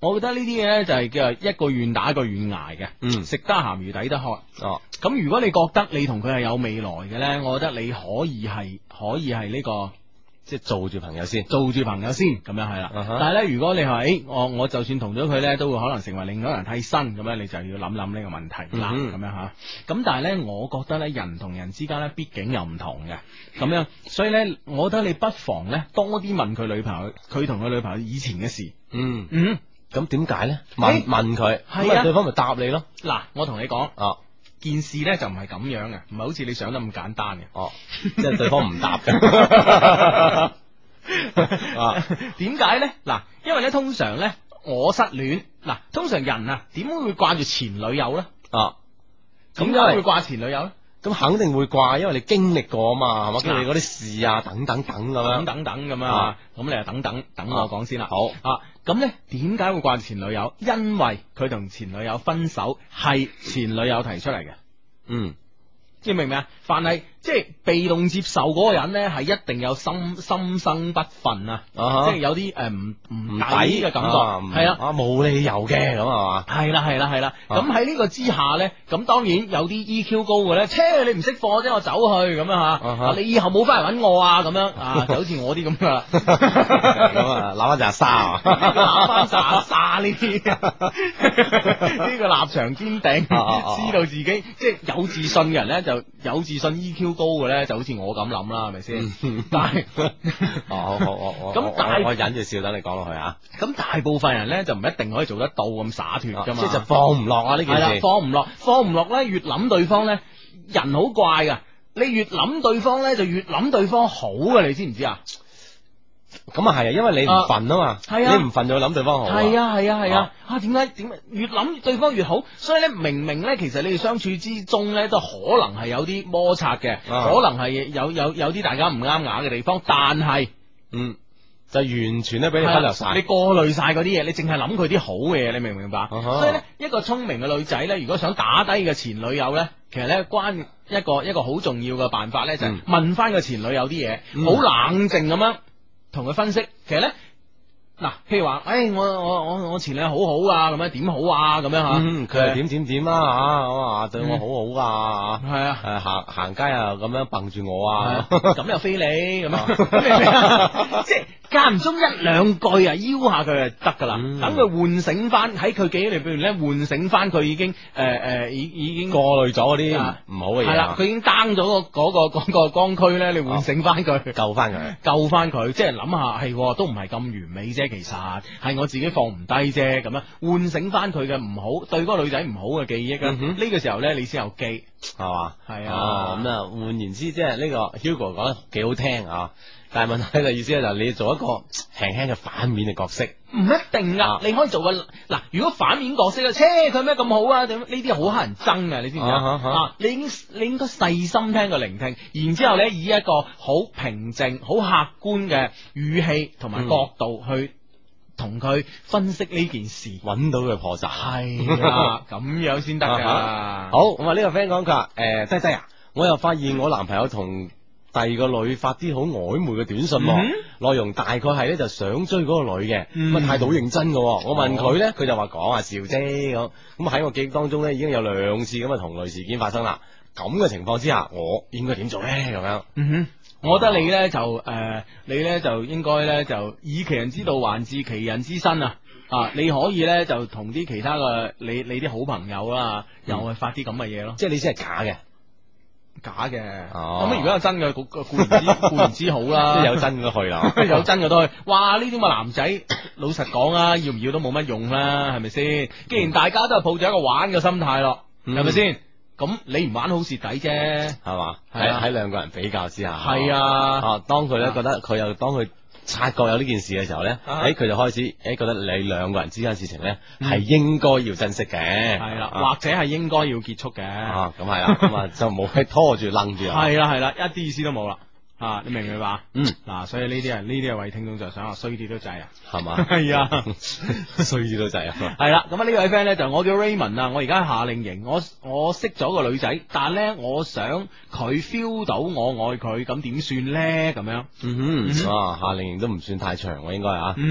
[SPEAKER 1] 我覺得呢啲嘢咧就係叫做一個願打一個願挨嘅，
[SPEAKER 3] 嗯
[SPEAKER 1] 食得鹹魚抵得渴。
[SPEAKER 3] 哦，
[SPEAKER 1] 咁如果你覺得你同佢係有未來嘅咧，我覺得你可以係可以係呢、個。
[SPEAKER 3] 即係做住朋友先，
[SPEAKER 1] 做住朋友先咁樣係啦。
[SPEAKER 3] 啊哈
[SPEAKER 1] 但係咧，如果你話誒，我我就算同咗佢咧，都會可能成為另外一個人替身咁樣，你就要諗諗呢個問題啦。
[SPEAKER 3] 嗯
[SPEAKER 1] 咁樣吓。咁但係咧，我覺得咧，人同人之間咧，畢竟又唔同嘅。咁樣，所以咧，我覺得你不妨咧多啲問佢女朋友，佢同佢女朋友以前嘅事。
[SPEAKER 3] 嗯，
[SPEAKER 1] 嗯，
[SPEAKER 3] 咁點解咧？問
[SPEAKER 1] 誒
[SPEAKER 3] 問佢，
[SPEAKER 1] 係啊
[SPEAKER 3] 咁對方咪答你咯。
[SPEAKER 1] 嗱，我同你講，
[SPEAKER 3] 哦
[SPEAKER 1] 件事咧就唔係咁樣嘅，唔係好似你想得咁簡單嘅。
[SPEAKER 3] 哦，即係對方唔答嘅。啊，
[SPEAKER 1] 點解咧？嗱，因為咧通常咧我失戀，嗱，通常人啊點會掛住前女友咧？
[SPEAKER 3] 啊，咁
[SPEAKER 1] 點
[SPEAKER 3] 因為
[SPEAKER 1] 解會掛前女友咧？
[SPEAKER 3] 咁肯定會掛，因為你經歷過啊嘛，係嘛？
[SPEAKER 1] 嗱
[SPEAKER 3] 經歷嗰啲事啊，等等等咁樣。
[SPEAKER 1] 等等等咁啊，咁你就等等等我講先啦。
[SPEAKER 3] 好
[SPEAKER 1] 啊，咁咧點解會掛住前女友？因為佢同前女友分手係前女友提出嚟嘅，
[SPEAKER 3] 嗯，
[SPEAKER 1] 你明唔明啊？凡係即係被動接受嗰個人咧，係一定有心心生不忿啊，
[SPEAKER 3] 啊哈
[SPEAKER 1] 即係有啲誒唔唔
[SPEAKER 3] 唔
[SPEAKER 1] 抵嘅感覺，
[SPEAKER 3] 啊
[SPEAKER 1] 係啊。
[SPEAKER 3] 啊冇理由嘅咁係嘛？
[SPEAKER 1] 係啦係啦係啦，
[SPEAKER 3] 啊
[SPEAKER 1] 咁喺呢個之下咧，咁當然有啲 E Q 高嘅咧，切你唔識貨啫，我走去咁樣吓，
[SPEAKER 3] 哈
[SPEAKER 1] 啊你以後冇翻嚟搵我啊，咁樣啊，就好似我啲咁噶啦，
[SPEAKER 3] 咁啊，攬翻扎沙啊！
[SPEAKER 1] 攬翻沙沙呢啲，呢個立場堅定，
[SPEAKER 3] 啊啊啊
[SPEAKER 1] 知道自己即係有自信嘅人咧，就有自信 E Q 高嘅咧，就好似我咁諗啦，係咪先？但係
[SPEAKER 3] 哦，好好我我我
[SPEAKER 1] 咁但係
[SPEAKER 3] 我我忍住笑，等你講落去啊！
[SPEAKER 1] 咁大部分人咧就唔一定可以做得到咁灑脱噶嘛，
[SPEAKER 3] 即係就放唔落啊呢件
[SPEAKER 1] 係啦，
[SPEAKER 3] 事。
[SPEAKER 1] 放唔落，放唔落咧，越諗對方咧，人好怪噶，你越諗對方咧，就越諗對方好噶，你知唔知啊？
[SPEAKER 3] 咁啊係啊，因為你唔瞓啊嘛，
[SPEAKER 1] 係啊
[SPEAKER 3] 你唔瞓就諗對方好。
[SPEAKER 1] 係啊係啊係啊，啊點解點解越諗對方越好？所以咧，明明咧，其實你哋相處之中咧，都可能係有啲摩擦嘅，
[SPEAKER 3] 啊
[SPEAKER 1] 可能係有有有啲大家唔啱牙嘅地方，但係
[SPEAKER 3] 嗯，就完全咧俾你忽略晒。
[SPEAKER 1] 你過濾晒嗰啲嘢，你淨係諗佢啲好嘅嘢，你明唔明白？
[SPEAKER 3] 哈
[SPEAKER 1] 所以咧，一個聰明嘅女仔咧，如果想打低嘅前女友咧，其實咧關一個一個好重要嘅辦法咧，就係
[SPEAKER 3] 嗯
[SPEAKER 1] 問翻個前女友啲嘢，
[SPEAKER 3] 嗯
[SPEAKER 1] 好冷靜咁樣同佢分析。其實咧，嗱，譬如話，誒，我我我我前女友好好啊，咁樣點好啊，咁樣吓，
[SPEAKER 3] 嗯，佢係點點點啊吓，咁啊對我好好啊
[SPEAKER 1] 係啊。
[SPEAKER 3] 誒行行街啊咁樣蹦住我啊，
[SPEAKER 1] 咁又非你咁樣，咁你明啊即係間唔中一兩句啊，邀下佢就得噶啦，
[SPEAKER 3] 嗯
[SPEAKER 1] 等佢喚醒翻喺佢記憶裏邊咧，喚醒翻佢已經誒誒已已經
[SPEAKER 3] 過濾咗嗰啲
[SPEAKER 1] 啊
[SPEAKER 3] 唔好嘅嘢。
[SPEAKER 1] 係啦，佢已經 down 咗個嗰個嗰個光區咧，你喚醒翻佢。
[SPEAKER 3] 救翻佢。
[SPEAKER 1] 救翻佢，即係諗下係都唔係咁完美啫，其實係我自己放唔低啫，咁樣喚醒翻佢嘅唔好，對嗰個女仔唔好嘅記憶啊！呢、
[SPEAKER 3] 嗯哼
[SPEAKER 1] 個時候咧，你先有機，
[SPEAKER 3] 係嘛？
[SPEAKER 1] 係啊
[SPEAKER 3] 哦咁啊，換言之，即係呢個 Hugo 講得幾好聽啊，但係問題嘅意思咧就係你要做一個輕輕嘅反面嘅角色。
[SPEAKER 1] 唔一定噶，
[SPEAKER 3] 啊
[SPEAKER 1] 你可以做個嗱，如果反面角色咧，切佢咩咁好啊？點呢啲好乞人憎嘅，你知唔知啊？
[SPEAKER 3] 啊啊啊
[SPEAKER 1] 啊，你應你應該細心聽佢聆聽，然之後咧以一個好平靜、好客觀嘅語氣同埋角度去同佢分析呢件事。
[SPEAKER 3] 揾到佢破綻。
[SPEAKER 1] 係啦，咁樣先得噶。
[SPEAKER 3] 好，咁啊呢個 friend 講佢話誒低低啊，我又發現我男朋友同第二個女發啲好曖昧嘅短信喎，
[SPEAKER 1] 嗯
[SPEAKER 3] 內容大概係咧就想追嗰個女嘅，
[SPEAKER 1] 嗯
[SPEAKER 3] 咁啊態度好認真嘅喎。我問佢咧，佢就話講下笑啫咁。咁喺我記憶當中咧已經有兩次咁嘅同類事件發生啦。咁嘅情況之下，我應該點做咧？咁樣，
[SPEAKER 1] 嗯哼，我覺得你咧就誒、呃，你咧就應該咧就以其人之道還治其人之身啊！啊，你可以咧就同啲其他嘅你你啲好朋友啦，又係發啲咁嘅嘢咯，
[SPEAKER 3] 即係你先係假嘅。
[SPEAKER 1] 假嘅。
[SPEAKER 3] 哦
[SPEAKER 1] 咁如果有真嘅，固固然之固然之好啦，
[SPEAKER 3] 即係有真嘅去啦，
[SPEAKER 1] 有真嘅都去。哇！呢啲咁嘅男仔，老實講啊，要唔要都冇乜用啦，係咪先？既然大家都係抱住一個玩嘅心態咯，
[SPEAKER 3] 嗯
[SPEAKER 1] 係咪先？咁你唔玩好蝕底啫。
[SPEAKER 3] 係嘛？
[SPEAKER 1] 係啊
[SPEAKER 3] 喺喺兩個人比較之下，
[SPEAKER 1] 係啊
[SPEAKER 3] 啊，當佢咧
[SPEAKER 1] 啊
[SPEAKER 3] 覺得佢又當佢察覺有呢件事嘅時候咧，
[SPEAKER 1] 啊
[SPEAKER 3] 誒佢就開始誒覺得你兩個人之間事情咧
[SPEAKER 1] 嗯
[SPEAKER 3] 係應該要珍惜嘅，
[SPEAKER 1] 係啦，
[SPEAKER 3] 啊
[SPEAKER 1] 或者係應該要結束嘅。
[SPEAKER 3] 啊咁係啦，咁啊就冇係拖住楞住啊，
[SPEAKER 1] 係啦係啦，一啲意思都冇啦。啊，你明唔明白？
[SPEAKER 3] 嗯，
[SPEAKER 1] 嗱，所以呢啲啊，呢啲係為聽眾着想啊，衰啲都制啊。
[SPEAKER 3] 係嘛，
[SPEAKER 1] 係啊。
[SPEAKER 3] 衰啲都滯啊，
[SPEAKER 1] 係啦，咁啊呢位 friend 咧就我叫 Raymond 啊，我而家喺夏令營，我我識咗個女仔，但係咧我想佢 feel 到我愛佢，咁點算咧？咁樣，
[SPEAKER 3] 嗯
[SPEAKER 1] 嗯
[SPEAKER 3] 哼，哇夏令營都唔算太長喎，應該啊。
[SPEAKER 1] 嗯，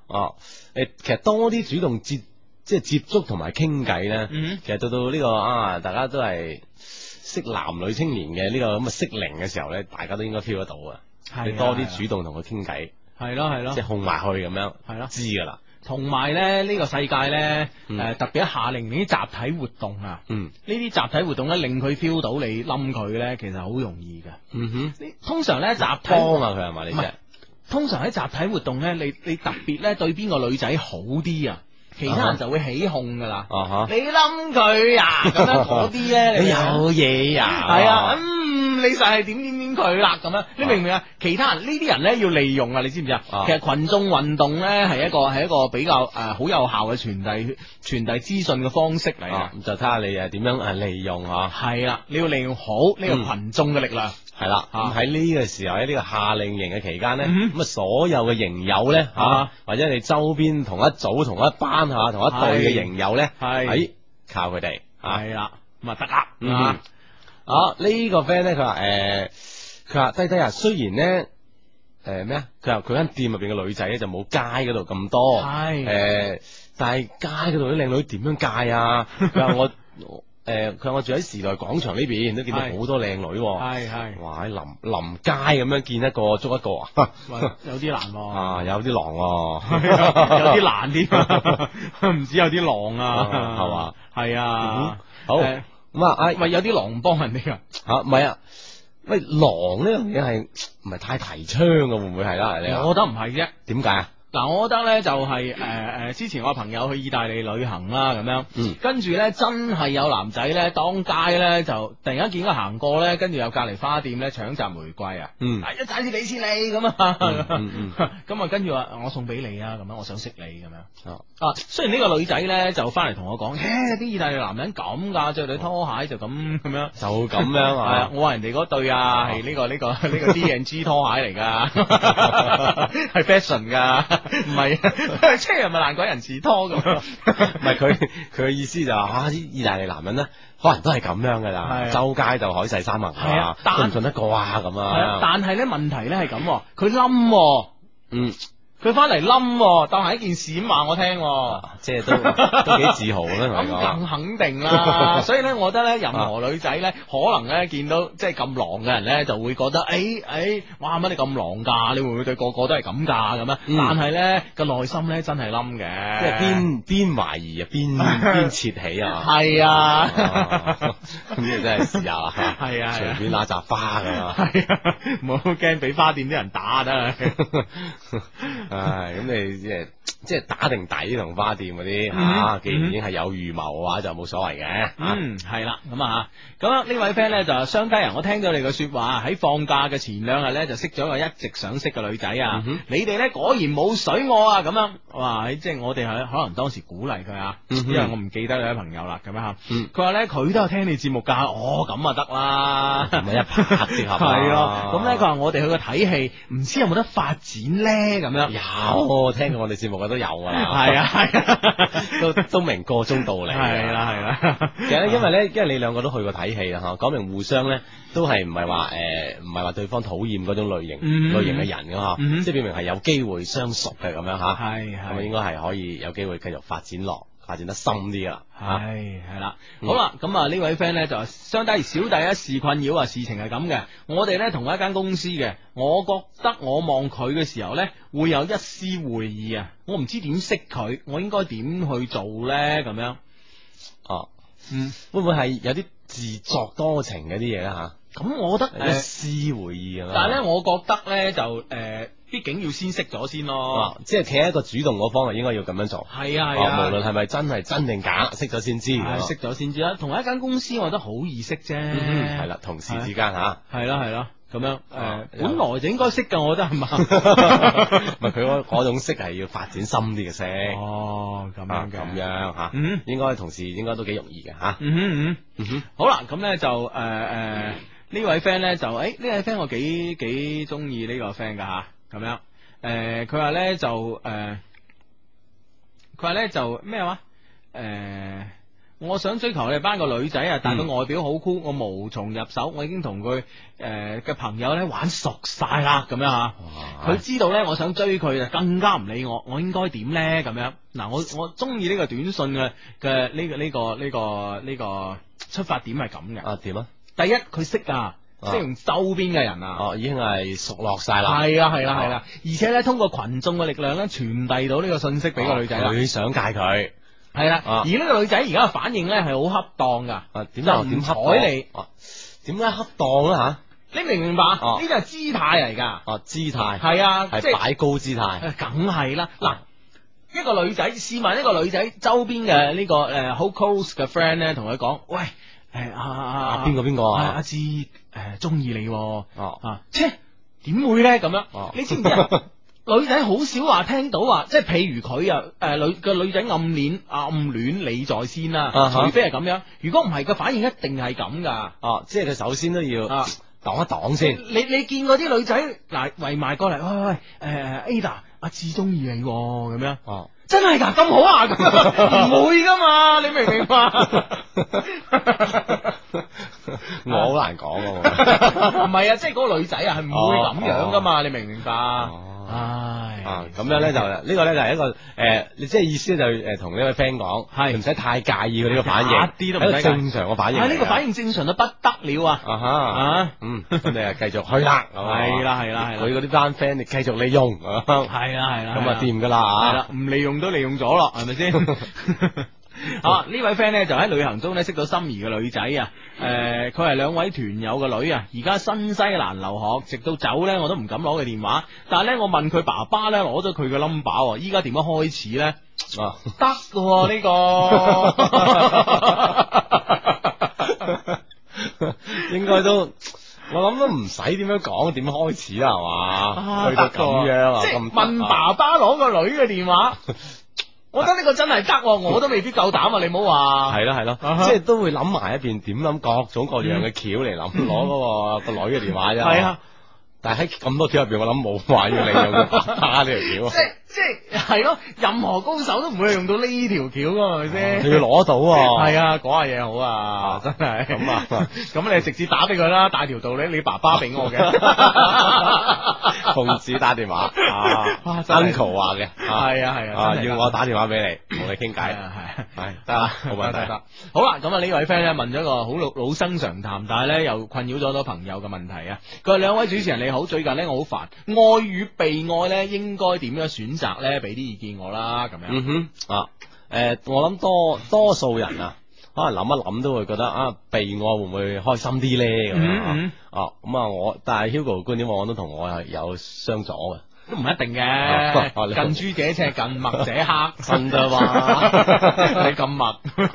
[SPEAKER 3] 哦，誒，其實多啲主動接即係接觸同埋傾偈咧，
[SPEAKER 1] 嗯
[SPEAKER 3] 其實到到呢個啊，大家都係識男女青年嘅呢個咁嘅適齡嘅時候咧，大家都應該 feel 得到啊。你多啲主動同佢傾偈，
[SPEAKER 1] 係咯係咯，
[SPEAKER 3] 即係控埋去咁樣，
[SPEAKER 1] 係咯，
[SPEAKER 3] 知噶啦。
[SPEAKER 1] 同埋咧呢個世界咧，誒、
[SPEAKER 3] 嗯
[SPEAKER 1] 呃、特別喺夏令營啲集體活動啊，
[SPEAKER 3] 嗯，
[SPEAKER 1] 呢啲集體活動咧令佢 feel 到你冧佢咧，其實好容易嘅。
[SPEAKER 3] 嗯哼，
[SPEAKER 1] 你通常咧集體
[SPEAKER 3] 幫啊佢係嘛？你
[SPEAKER 1] 唔係
[SPEAKER 3] 啫，
[SPEAKER 1] 通常喺集體活動咧，你你特別咧對邊個女仔好啲啊，其他人就會起哄噶啦。
[SPEAKER 3] 啊哈，
[SPEAKER 1] 你冧佢啊，咁樣嗰啲咧，
[SPEAKER 3] 你
[SPEAKER 1] 你
[SPEAKER 3] 有嘢啊？
[SPEAKER 1] 係啊，嗯，你就係點點點佢啦，咁樣，你明唔明啊？其他人呢啲人咧要利用啊，你知唔知啊？其實群眾運動咧係一個係一個比較誒好有效嘅傳遞傳遞資訊嘅方式嚟啊。
[SPEAKER 3] 咁就睇下你誒點樣誒利用吓。
[SPEAKER 1] 係啦，你要利用好呢個群眾嘅力量。
[SPEAKER 3] 係啦，咁喺呢個時候喺呢個夏令營嘅期間咧，
[SPEAKER 1] 嗯
[SPEAKER 3] 咁啊所有嘅營友咧吓，或者你周邊同一組、同一班吓、同一隊嘅營友咧，
[SPEAKER 1] 係
[SPEAKER 3] 喺靠佢哋。
[SPEAKER 1] 係啦，咁啊得啦。
[SPEAKER 3] 嗯
[SPEAKER 1] 啊
[SPEAKER 3] 啊呢個 friend 咧，佢話誒，佢話低低啊，雖然咧誒咩啊，佢話佢間店入邊嘅女仔咧就冇街嗰度咁多，
[SPEAKER 1] 係
[SPEAKER 3] 誒，但係街嗰度啲靚女點樣戒啊？佢話我。誒，佢話我住喺時代廣場呢邊，都見到好多靚女，
[SPEAKER 1] 係係，
[SPEAKER 3] 哇喺臨臨街咁樣見一個捉一個啊，
[SPEAKER 1] 有啲難喎，
[SPEAKER 3] 啊有啲狼，
[SPEAKER 1] 有啲難啲，唔止有啲狼啊，
[SPEAKER 3] 係嘛，
[SPEAKER 1] 係啊，
[SPEAKER 3] 好咁啊，哎
[SPEAKER 1] 喂有啲狼幫人哋噶，
[SPEAKER 3] 吓唔係啊，喂狼呢樣嘢係唔係太提倡嘅，會唔會係啦？你
[SPEAKER 1] 我覺得唔係啫，
[SPEAKER 3] 點解啊？
[SPEAKER 1] 嗱，我覺得咧就係誒誒，之前我朋友去意大利旅行啦，咁樣，
[SPEAKER 3] 嗯，
[SPEAKER 1] 跟住咧真係有男仔咧當街咧就突然間見佢行過咧，跟住有隔籬花店咧搶摘玫瑰啊，
[SPEAKER 3] 嗯，
[SPEAKER 1] 一陣先俾錢你咁啊，
[SPEAKER 3] 嗯嗯，
[SPEAKER 1] 咁啊跟住話我送俾你啊，咁樣我想識你咁樣，
[SPEAKER 3] 哦，
[SPEAKER 1] 啊，雖然呢個女仔咧就翻嚟同我講，誒啲意大利男人咁噶，着對拖鞋就咁咁樣，
[SPEAKER 3] 就咁樣啊，
[SPEAKER 1] 係啊，我話人哋嗰對啊係呢個呢個呢個 D and G 拖鞋嚟噶，係 fashion 噶，唔係。即係咪爛鬼人字拖咁？
[SPEAKER 3] 唔係佢佢嘅意思就話啊，啲意大利男人咧，可能都係咁樣噶啦，周街就海誓山盟啊，信唔信得過啊咁啊？
[SPEAKER 1] 但係咧問題咧係咁，佢冧，
[SPEAKER 3] 嗯。
[SPEAKER 1] 佢翻嚟冧，當係一件事咁話我聽，
[SPEAKER 3] 即係都都幾自豪咧，同你講。
[SPEAKER 1] 咁更肯定啦，所以咧，我覺得咧，任何女仔咧，可能咧見到即係咁狼嘅人咧，就會覺得，誒誒，哇乜你咁狼噶？你會唔會對個個都係咁噶？咁啊？但係咧個內心咧真係冧嘅，
[SPEAKER 3] 即係邊邊懷疑啊，邊邊竊喜啊，
[SPEAKER 1] 係啊，
[SPEAKER 3] 呢個真係試下，
[SPEAKER 1] 係啊，
[SPEAKER 3] 隨便揦扎花噶嘛，
[SPEAKER 1] 係啊，唔好驚俾花店啲人打得。
[SPEAKER 3] 唉，咁你即係即係打定底同花店嗰啲吓，既然已經係有預謀嘅話，就冇所謂嘅。
[SPEAKER 1] 嗯，係啦，咁啊，咁呢位 friend 咧就商家人，我聽到你嘅說話，喺放假嘅前兩日咧就識咗個一直想識嘅女仔啊，你哋咧果然冇水我啊，咁樣，哇，即係我哋係可能當時鼓勵佢啊，因為我唔記得你啲朋友啦，咁樣吓，佢話咧佢都有聽你節目噶，哦，咁啊得啦，
[SPEAKER 3] 咁啊一拍即合，
[SPEAKER 1] 係咯，咁咧佢話我哋去個睇戲，唔知有冇得發展咧，咁樣。
[SPEAKER 3] 有，聽過我哋節目嘅都有噶啦，
[SPEAKER 1] 係啊係啊，
[SPEAKER 3] 都都明個中道理，
[SPEAKER 1] 係啦係啦。
[SPEAKER 3] 其實咧，因為咧，因為你兩個都去過睇戲啦，吓，講明互相咧都係唔係話誒，唔係話對方討厭嗰種類型類型嘅人噶嗬，即係表明係有機會相熟嘅咁樣吓，
[SPEAKER 1] 係係，
[SPEAKER 3] 咁應該係可以有機會繼續發展落。發展得深啲噶啦，
[SPEAKER 1] 係係啦，好啦，咁啊呢位 friend 咧就相當於小弟一事困擾啊，事情係咁嘅，我哋咧同一間公司嘅，我覺得我望佢嘅時候咧會有一絲會意啊，我唔知點識佢，我應該點去做咧咁樣？
[SPEAKER 3] 哦，
[SPEAKER 1] 嗯，
[SPEAKER 3] 會唔會係有啲自作多情嗰啲嘢咧吓？
[SPEAKER 1] 咁我覺得
[SPEAKER 3] 一絲會意啊，
[SPEAKER 1] 但係咧，我覺得咧就誒。呃畢竟要先識咗先咯，
[SPEAKER 3] 啊、即係企喺一個主動嗰方面，應該要咁樣做。
[SPEAKER 1] 係啊係啊，
[SPEAKER 3] 啊無論係咪真係真定假，識咗先知。
[SPEAKER 1] 識咗先知啦。同一間公司，我覺得好易識啫。
[SPEAKER 3] 係啦、嗯，同事之間吓。
[SPEAKER 1] 係啦係啦，咁樣誒，呃、本來就應該識噶，我覺得係嘛。
[SPEAKER 3] 唔係佢嗰嗰種識係要發展深啲嘅識。
[SPEAKER 1] 哦，咁樣嘅，
[SPEAKER 3] 咁樣吓，
[SPEAKER 1] 嗯，
[SPEAKER 3] 應該同事應該都幾容易嘅吓。
[SPEAKER 1] 嗯哼嗯哼，好啦，咁咧就誒誒呢位 friend 咧就誒呢位 friend 我幾幾中意呢個 friend 噶吓，咁樣。誒，佢話咧就誒，佢話咧就咩話？誒、呃， 我想追求你哋班個女仔啊，但係佢外表好酷，我無從入手，我已經同佢誒嘅朋友咧玩熟晒啦，咁樣吓。佢知道咧，我想追佢就更加唔理我，我應該點咧？咁樣嗱，我我中意呢個短信嘅嘅呢個呢個呢個呢個出發點係咁嘅。
[SPEAKER 3] 啊，點啊？
[SPEAKER 1] 第一，佢識啊。即係用周邊嘅人啊，
[SPEAKER 3] 哦，已經係熟落晒啦，
[SPEAKER 1] 係啊係啦係啦，而且咧通過群眾嘅力量咧傳遞到呢個信息俾個女仔啦，
[SPEAKER 3] 佢想戒佢，
[SPEAKER 1] 係啦，而呢個女仔而家嘅反應咧係好恰當噶，
[SPEAKER 3] 啊點又點恰當？
[SPEAKER 1] 你
[SPEAKER 3] 點解恰當咧吓？
[SPEAKER 1] 你明唔明白？呢啲係姿態嚟噶，
[SPEAKER 3] 哦姿態
[SPEAKER 1] 係啊，
[SPEAKER 3] 係擺高姿態，
[SPEAKER 1] 梗係啦，嗱。一個女仔，試問一個女仔周邊嘅呢個誒好 close 嘅 friend 咧，同佢講，喂。誒啊啊
[SPEAKER 3] 邊個邊個啊？
[SPEAKER 1] 阿志誒中意你哦
[SPEAKER 3] 啊，
[SPEAKER 1] 切點會咧咁樣？你知唔知啊？女仔好少話聽到話，即係譬如佢啊誒女個女仔暗戀暗戀你在先啦，除非係咁樣，如果唔係個反應一定係咁噶。
[SPEAKER 3] 哦，即係佢首先都要擋一擋先。
[SPEAKER 1] 你你見過啲女仔嗱圍埋過嚟，喂喂誒 Ada 阿志中意你咁樣？哦。真係噶咁好啊？唔會噶嘛？你明唔明白？
[SPEAKER 3] 我好難講啊！
[SPEAKER 1] 唔係啊，即係嗰個女仔啊，係唔會咁樣噶嘛？你明唔明白？唉，
[SPEAKER 3] 啊咁樣咧就呢個咧就係一個誒，你即係意思就誒同呢位 friend 講，係唔使太介意佢呢個反應，一啲都唔使正常嘅反應。
[SPEAKER 1] 係呢個反應正常到不得了啊！
[SPEAKER 3] 啊哈啊，嗯，咁你啊繼續去啦，
[SPEAKER 1] 係啦係啦係啦，
[SPEAKER 3] 佢嗰啲班 friend 你繼續利用，
[SPEAKER 1] 係啦係啦，
[SPEAKER 3] 咁啊掂噶啦，
[SPEAKER 1] 係啦，唔利用都利用咗咯，係咪先？啊！呢位 friend 咧就喺旅行中咧識到心儀嘅女仔啊，誒，佢係兩位團友嘅女啊，而家新西蘭留學，直到走咧我都唔敢攞佢電話，但係咧我問佢爸爸咧攞咗佢嘅 number，依家點樣開始咧？啊，得嘅呢個，應該都。我諗都唔使點樣講，點樣開始啦，係嘛？去到咁樣啊，即係問爸爸攞個女嘅電話。我覺得呢個真係得，我都未必夠膽啊！你唔好話係咯係咯，即係都會諗埋一邊，點諗各種各樣嘅橋嚟諗，攞嗰個個女嘅電話啫。係啊，但係喺咁多橋入邊，我諗冇話要利用個爸爸呢條橋。即係即係係咯，任何高手都唔會用到呢條橋噶，係咪先？你要攞到，係啊，講下嘢好啊，真係咁啊！咁你直接打俾佢啦，大條道理，你爸爸俾我嘅，奉旨打電話啊 ，uncle 話嘅，係啊係啊，要我打電話俾你，同你傾偈，係係得啦，冇問題得。好啦，咁啊呢位 friend 咧問咗一個好老老生常談，但係咧又困擾咗好多朋友嘅問題啊。佢話兩位主持人你好，最近咧我好煩，愛與被愛咧應該點樣選擇咧？俾啲意見我啦，咁樣。嗯哼，啊，誒、呃，我諗多多數人啊，可能諗一諗都會覺得啊，被愛會唔會開心啲咧？咁樣、嗯嗯、啊，咁啊，我但係 Hugo 嘅觀點，我都同我係有相左嘅。都唔一定嘅，啊、近朱者赤，近墨者黑，真噶嘛？你咁墨，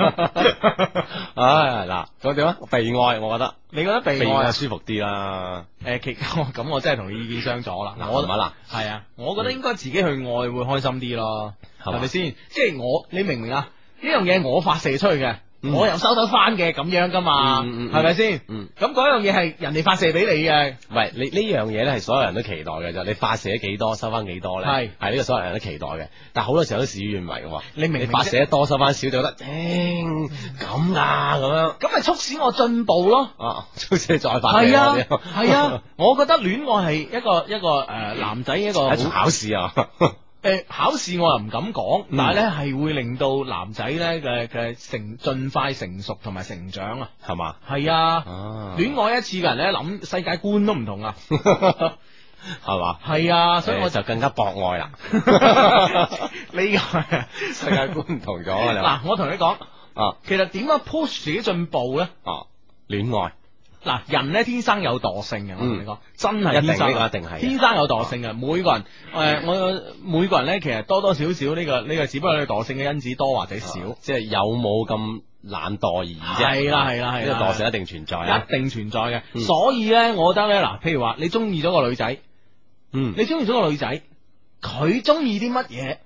[SPEAKER 1] 唉嗱，咁點啊？被愛，我覺得你覺得被愛係舒服啲啦。誒、呃，其咁我真係同你意見相左啦。我嗱係啊，我覺得應該自己去愛會開心啲咯，係咪先？即係我，你明唔明啊？呢樣嘢我發射出去嘅。我又收得翻嘅咁樣噶嘛，係咪先？咁嗰樣嘢係人哋發射俾你嘅，唔係你呢樣嘢咧係所有人都期待嘅，就你發射咗幾多收翻幾多咧？係係呢個所有人都期待嘅，但係好多時候都事與願違嘅。你明你發射得多收翻少就覺得，誒咁啊咁樣，咁咪促使我進步咯。啊，促使你再發射。係啊係啊，我覺得戀愛係一個一個誒男仔一個考試啊。誒，考試我又唔敢講，但係咧係會令到男仔咧嘅嘅成盡快成熟同埋成長啊，係嘛？係啊，戀愛一次嘅人咧諗世界觀都唔同啊，係嘛？係啊，所以我就更加博愛啦。呢個世界觀唔同咗啊！嗱，我同你講啊，其實點樣 push 自己進步咧？啊，戀愛。嗱，人咧天生有惰性嘅，我同你講，真係天生，一定係天生有惰性嘅。每個人，誒，我每個人咧，其實多多少少呢個呢個，只不過係惰性嘅因子多或者少，即係有冇咁懶惰而已啫。係啦係啦係啦，呢個惰性一定存在，一定存在嘅。所以咧，我覺得咧，嗱，譬如話你中意咗個女仔，嗯，你中意咗個女仔，佢中意啲乜嘢，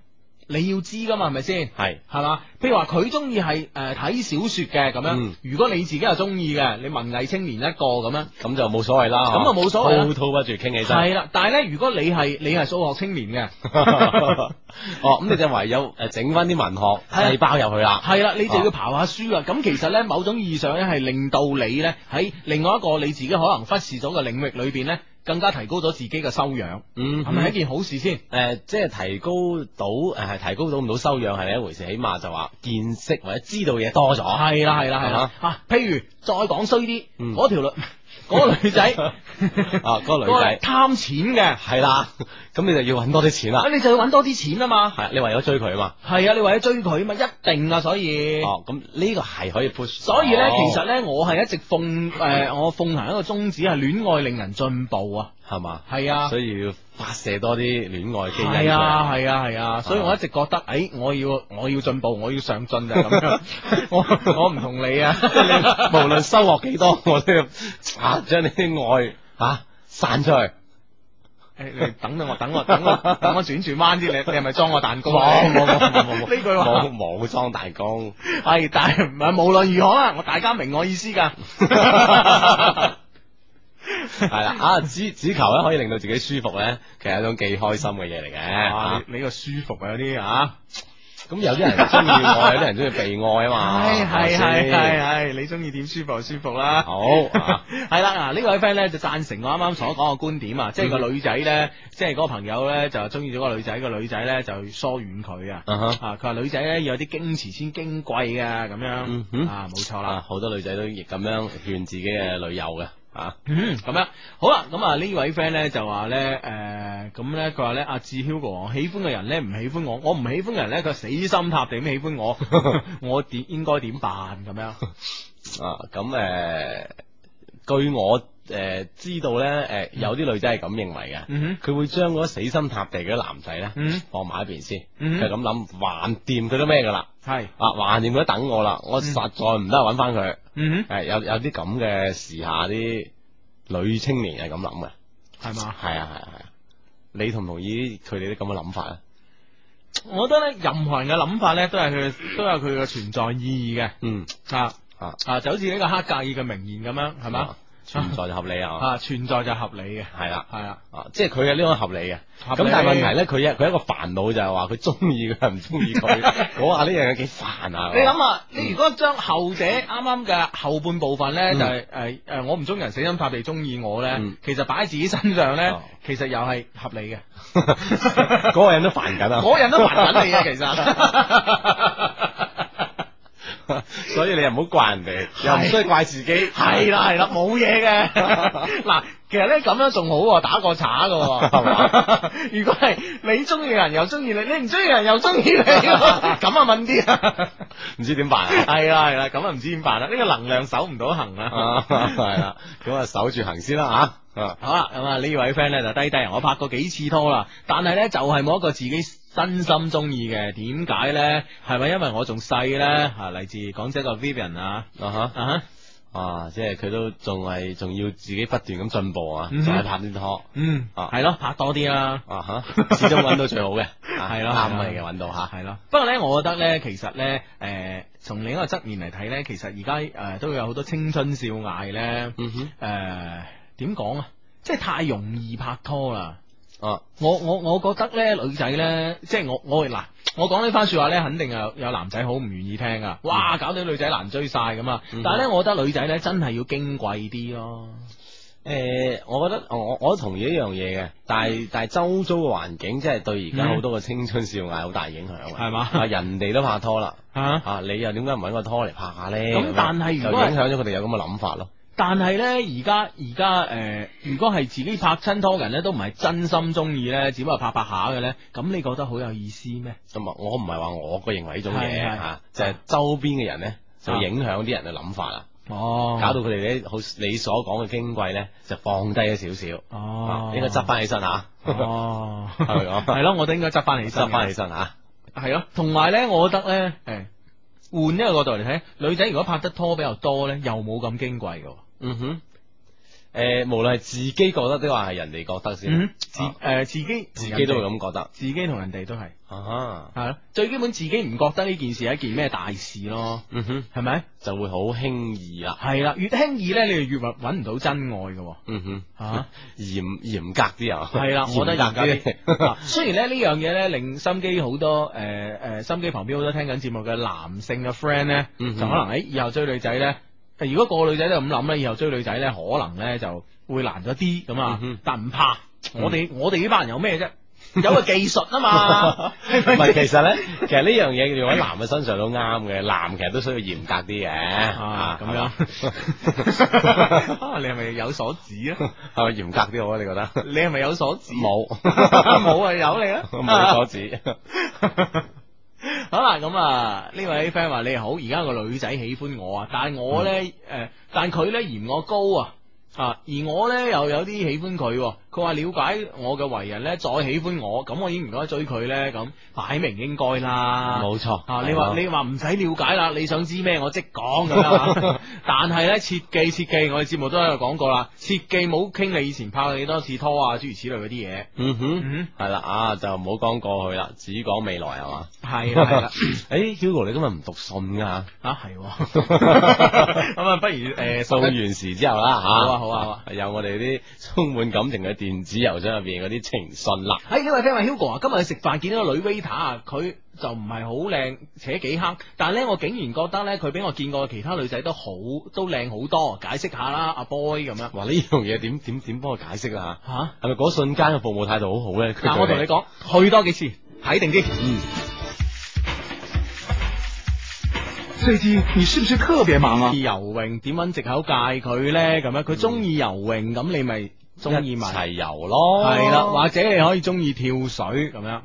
[SPEAKER 1] 你要知噶嘛，係咪先？
[SPEAKER 3] 係
[SPEAKER 1] 係嘛？譬如話佢中意係誒睇小說嘅咁樣，
[SPEAKER 3] 嗯
[SPEAKER 1] 如果你自己又中意嘅，你文藝青年一個咁樣，
[SPEAKER 3] 咁就冇所謂啦，
[SPEAKER 1] 咁就冇所謂啦
[SPEAKER 3] 滔滔不絕傾起身。
[SPEAKER 1] 係啦。但係咧，如果你係你係數學青年嘅，
[SPEAKER 3] 哦，咁你就唯有誒整翻啲文學細胞入去啦。
[SPEAKER 1] 係啦，你就要刨下書啦。咁其實咧，某種意義上咧，係令到你咧喺另外一個你自己可能忽視咗嘅領域裏邊咧，更加提高咗自己嘅修養。
[SPEAKER 3] 嗯，
[SPEAKER 1] 係咪一件好事先？
[SPEAKER 3] 誒，即係提高到誒，係提高到唔到修養係另一回事，起碼就話見識或者知道嘢多咗。
[SPEAKER 1] 係啦，係啦，係啦。啊，譬如再講衰啲，
[SPEAKER 3] 嗯
[SPEAKER 1] 嗰條女，嗰個女仔，
[SPEAKER 3] 啊，嗰個女仔
[SPEAKER 1] 貪錢嘅，
[SPEAKER 3] 係啦，咁你就要揾多啲錢啦。
[SPEAKER 1] 咁你就要揾多啲錢啊嘛。
[SPEAKER 3] 係，你為咗追佢啊嘛。
[SPEAKER 1] 係啊，你為咗追佢啊嘛，一定啊，所以。
[SPEAKER 3] 哦，咁呢個係可以 push。
[SPEAKER 1] 所以咧，其實咧，我係一直奉誒，我奉行一個宗旨係戀愛令人進步啊。
[SPEAKER 3] 係嘛？
[SPEAKER 1] 係啊，
[SPEAKER 3] 所以要發射多啲戀愛基因出嚟。
[SPEAKER 1] 係啊，係啊，係啊，所以我一直覺得，誒，我要我要進步，我要上進就係咁樣。我我唔同你啊，
[SPEAKER 3] 無論收穫幾多，我都要啊將你啲愛啊散出去。
[SPEAKER 1] 誒，你等等我，等我，等我，等我轉轉彎啲，你你係咪裝我蛋糕？
[SPEAKER 3] 冇冇冇冇冇冇
[SPEAKER 1] 呢句話
[SPEAKER 3] 冇冇裝蛋糕。
[SPEAKER 1] 係，但係唔係無論如何啦，我大家明我意思㗎。
[SPEAKER 3] 係啦，啊，只只求咧可以令到自己舒服咧，其實係一種幾開心嘅嘢嚟嘅。
[SPEAKER 1] 啊，你你個舒服啊有啲啊，
[SPEAKER 3] 咁有啲人中意愛，有啲人中意被愛啊嘛。
[SPEAKER 1] 係係係係
[SPEAKER 3] 係。
[SPEAKER 1] 係，你中意點舒服就舒服啦。
[SPEAKER 3] 好，啊
[SPEAKER 1] 係啦，嗱呢位 friend 咧就贊成我啱啱所講嘅觀點啊，即係個女仔咧，即係嗰個朋友咧就中意咗個女仔，個女仔咧就疏遠佢啊。
[SPEAKER 3] 啊哈
[SPEAKER 1] 啊，佢話女仔咧要有啲矜持先矜貴嘅咁樣。
[SPEAKER 3] 嗯哼
[SPEAKER 1] 啊，冇錯啦。
[SPEAKER 3] 啊，好多女仔都亦咁樣勸自己嘅女友嘅。啊，
[SPEAKER 1] 嗯，咁樣好啦，咁啊呢位 friend 咧就話咧，誒，咁咧佢話咧阿志 Hugo，我喜歡嘅人咧唔喜歡我，我唔喜歡嘅人咧佢死心塌地咁喜歡我，我點應該點辦咁樣？
[SPEAKER 3] 啊，咁誒、呃，據我誒、呃、知道咧，誒、呃、有啲女仔係咁認為嘅，
[SPEAKER 1] 嗯
[SPEAKER 3] 佢會將嗰死心塌地嘅男仔咧，
[SPEAKER 1] 嗯
[SPEAKER 3] 放埋一邊先，
[SPEAKER 1] 嗯
[SPEAKER 3] 佢係咁諗，橫掂佢都咩噶啦，
[SPEAKER 1] 係，
[SPEAKER 3] 啊，橫掂佢都等我啦，我實在唔得揾翻佢，
[SPEAKER 1] 嗯
[SPEAKER 3] 誒有有啲咁嘅時下啲女青年係咁諗嘅，
[SPEAKER 1] 係嘛？
[SPEAKER 3] 係啊係啊係啊，你同唔同意佢哋啲咁嘅諗法啊？
[SPEAKER 1] 我覺得咧，任何人嘅諗法咧，都係佢都有佢嘅存在意義嘅。
[SPEAKER 3] 嗯
[SPEAKER 1] 啊
[SPEAKER 3] 啊
[SPEAKER 1] 啊，就好似呢個黑格爾嘅名言咁樣，係嘛？
[SPEAKER 3] 啊存在就合理啊，
[SPEAKER 1] 啊，存在就合理嘅，
[SPEAKER 3] 係啦。
[SPEAKER 1] 係啦。
[SPEAKER 3] 啊，即係佢嘅呢個合理嘅，
[SPEAKER 1] 合理
[SPEAKER 3] 咁但係問題咧，佢一佢一個煩惱就係話佢中意佢唔中意佢，我話呢樣嘢幾煩啊！
[SPEAKER 1] 你諗下，你如果將後者啱啱嘅後半部分咧，就係誒誒，我唔中意人死心塌地中意我咧，
[SPEAKER 3] 嗯
[SPEAKER 1] 其實擺喺自己身上咧
[SPEAKER 3] 哦，
[SPEAKER 1] 其實又係合理嘅。
[SPEAKER 3] 嗰個人都煩緊啊，
[SPEAKER 1] 嗰人都煩緊你啊，其實。
[SPEAKER 3] 所以你又唔好怪人哋，又唔需要怪自己，
[SPEAKER 1] 係啦係啦，冇嘢嘅。嗱，其實咧咁樣仲好喎，打個岔噶，係嘛？如果係你中意嘅人又中意你，你唔中意嘅人又中意你，咁啊問啲啊，
[SPEAKER 3] 唔知點辦啊？
[SPEAKER 1] 係啦係啦，咁啊唔知點辦啦？呢個能量守唔到行啊。
[SPEAKER 3] 係啦，咁啊守住行先啦吓。
[SPEAKER 1] 好啦，咁啊呢位 friend 咧就低低，我拍過幾次拖啦，但係咧就係冇一個自己真心中意嘅，點解咧？係咪因為我仲細咧？啊，嚟自廣州個 Vivian 啊，
[SPEAKER 3] 啊哈
[SPEAKER 1] 啊哈，
[SPEAKER 3] 啊，即係佢都仲係仲要自己不斷咁進步啊，
[SPEAKER 1] 嗯
[SPEAKER 3] 再拍啲拖，
[SPEAKER 1] 嗯，
[SPEAKER 3] 啊
[SPEAKER 1] 係咯，拍多啲啦。
[SPEAKER 3] 啊哈，始終揾到最好嘅，
[SPEAKER 1] 係咯
[SPEAKER 3] 啱
[SPEAKER 1] 係咯
[SPEAKER 3] 嘅揾到吓，
[SPEAKER 1] 係咯，不過咧，我覺得咧，其實咧，誒、呃，從另一個側面嚟睇咧，其實而家誒都有好多青春少艾咧，
[SPEAKER 3] 嗯哼，
[SPEAKER 1] 誒點講啊，即係太容易拍拖啦。
[SPEAKER 3] 啊，
[SPEAKER 1] 我我我覺得咧，女仔咧，即係我我嗱，我講呢番說話咧，肯定有有男仔好唔願意聽噶，哇，搞到女仔難追晒咁啊！
[SPEAKER 3] 嗯、
[SPEAKER 1] 但係咧，我覺得女仔咧真係要矜貴啲咯。
[SPEAKER 3] 誒、呃，我覺得我我都同意一樣嘢嘅，但係但係周遭嘅環境，即係對而家好多嘅青春少艾好大影響嘅，
[SPEAKER 1] 係嘛、
[SPEAKER 3] 啊，人哋都拍拖啦，
[SPEAKER 1] 啊，
[SPEAKER 3] 啊，你又點解唔揾個拖嚟拍下咧？
[SPEAKER 1] 咁但係如果
[SPEAKER 3] 就影響咗佢哋有咁嘅諗法咯。
[SPEAKER 1] 但係咧，而家而家誒，如果係自己拍親拖嘅人咧，都唔係真心中意咧，只不過拍拍下嘅咧，咁你覺得好有意思咩？
[SPEAKER 3] 咁啊，我唔係話我個認為呢種嘢
[SPEAKER 1] 係係
[SPEAKER 3] 吓，就係周邊嘅人咧，就影響啲人嘅諗法啦。
[SPEAKER 1] 哦，
[SPEAKER 3] 搞到佢哋咧，好你所講嘅矜貴咧，就放低咗少少。
[SPEAKER 1] 哦，
[SPEAKER 3] 應該執翻起身吓。
[SPEAKER 1] 哦，
[SPEAKER 3] 係咪咁？
[SPEAKER 1] 係咯，我都應該執翻起身，
[SPEAKER 3] 執翻起身吓。
[SPEAKER 1] 係咯，同埋咧，我覺得咧，誒，換一個角度嚟睇，女仔如果拍得拖比較多咧，又冇咁矜貴嘅。
[SPEAKER 3] 嗯哼。 誒，無論係自己覺得，定話係人哋覺得先。
[SPEAKER 1] 嗯，自誒自己
[SPEAKER 3] 自己都會咁覺得，
[SPEAKER 1] 自己同人哋都係。
[SPEAKER 3] 啊，
[SPEAKER 1] 係咯，最基本自己唔覺得呢件事係一件咩大事咯。
[SPEAKER 3] 嗯哼，
[SPEAKER 1] 係咪？
[SPEAKER 3] 就會好輕易啦。
[SPEAKER 1] 係啦，越輕易咧，你就越揾揾唔到真愛嘅。
[SPEAKER 3] 嗯哼，
[SPEAKER 1] 吓
[SPEAKER 3] 嚴嚴格啲啊。
[SPEAKER 1] 係啦，我覺得嚴格
[SPEAKER 3] 啲。
[SPEAKER 1] 啲。雖然咧呢樣嘢咧，令心機好多誒誒，心機旁邊好多聽緊節目嘅男性嘅 friend 咧，就可能喺以後追女仔咧。如果個女仔都咁諗咧，以後追女仔咧，可能咧就會難咗啲咁啊。
[SPEAKER 3] 嗯、
[SPEAKER 1] 但唔怕，嗯、我哋我哋呢班人有咩啫？有個技術啊嘛。
[SPEAKER 3] 唔係，其實咧，其實呢樣嘢用喺男嘅身上都啱嘅，男其實都需要嚴格啲嘅。
[SPEAKER 1] 啊，咁樣。你係咪有所指啊？
[SPEAKER 3] 係咪嚴格啲好啊？你覺得？
[SPEAKER 1] 你係咪有所指？
[SPEAKER 3] 冇，
[SPEAKER 1] 冇啊，有你啊，
[SPEAKER 3] 冇所指。
[SPEAKER 1] 好啦，咁啊呢位 friend 話你好，而家個女仔喜歡我啊，但係我咧誒、嗯呃，但佢咧嫌我高啊。啊！而我咧又有啲喜歡佢，佢話了解我嘅為人咧，再喜歡我，咁我應唔應該追佢咧？咁擺明應該啦，
[SPEAKER 3] 冇錯。
[SPEAKER 1] 啊！你話你話唔使了解啦，你想知咩我即講咁啦。但係咧，切記切記，我哋節目都喺度講過啦，切記冇傾你以前拍過幾多次拖啊，諸如此類嗰啲嘢。
[SPEAKER 3] 嗯哼，係啦、嗯，啊就唔好講過去啦，只講未來係嘛。
[SPEAKER 1] 係啦係啦。
[SPEAKER 3] 誒，Hugo 你今日唔讀信噶？啊
[SPEAKER 1] 係。咁啊，不如誒
[SPEAKER 3] 掃完時之後啦吓。
[SPEAKER 1] 好啊好啊，
[SPEAKER 3] 有我哋啲充滿感情嘅電子郵箱入邊嗰啲情信啦。
[SPEAKER 1] 喺呢位 friend 話 Hugo 啊，今日去食飯見到個女 waiter 啊，佢就唔係好靚，且幾黑，但係咧我竟然覺得咧佢比我見過嘅其他女仔都好都靚好多，解釋下啦，阿 boy 咁樣。
[SPEAKER 3] 哇，呢樣嘢點點點幫佢解釋啊？吓，係咪嗰瞬間嘅服務態度好好咧？
[SPEAKER 1] 嗱，我同你講，去多幾次睇定啲。
[SPEAKER 3] 嗯。
[SPEAKER 5] 最近你是不是特別忙啊？
[SPEAKER 1] 游泳點搵藉口戒佢咧？咁樣佢中意游泳，咁你咪中意埋
[SPEAKER 3] 一齊游咯。
[SPEAKER 1] 係啦，或者你可以中意跳水咁樣。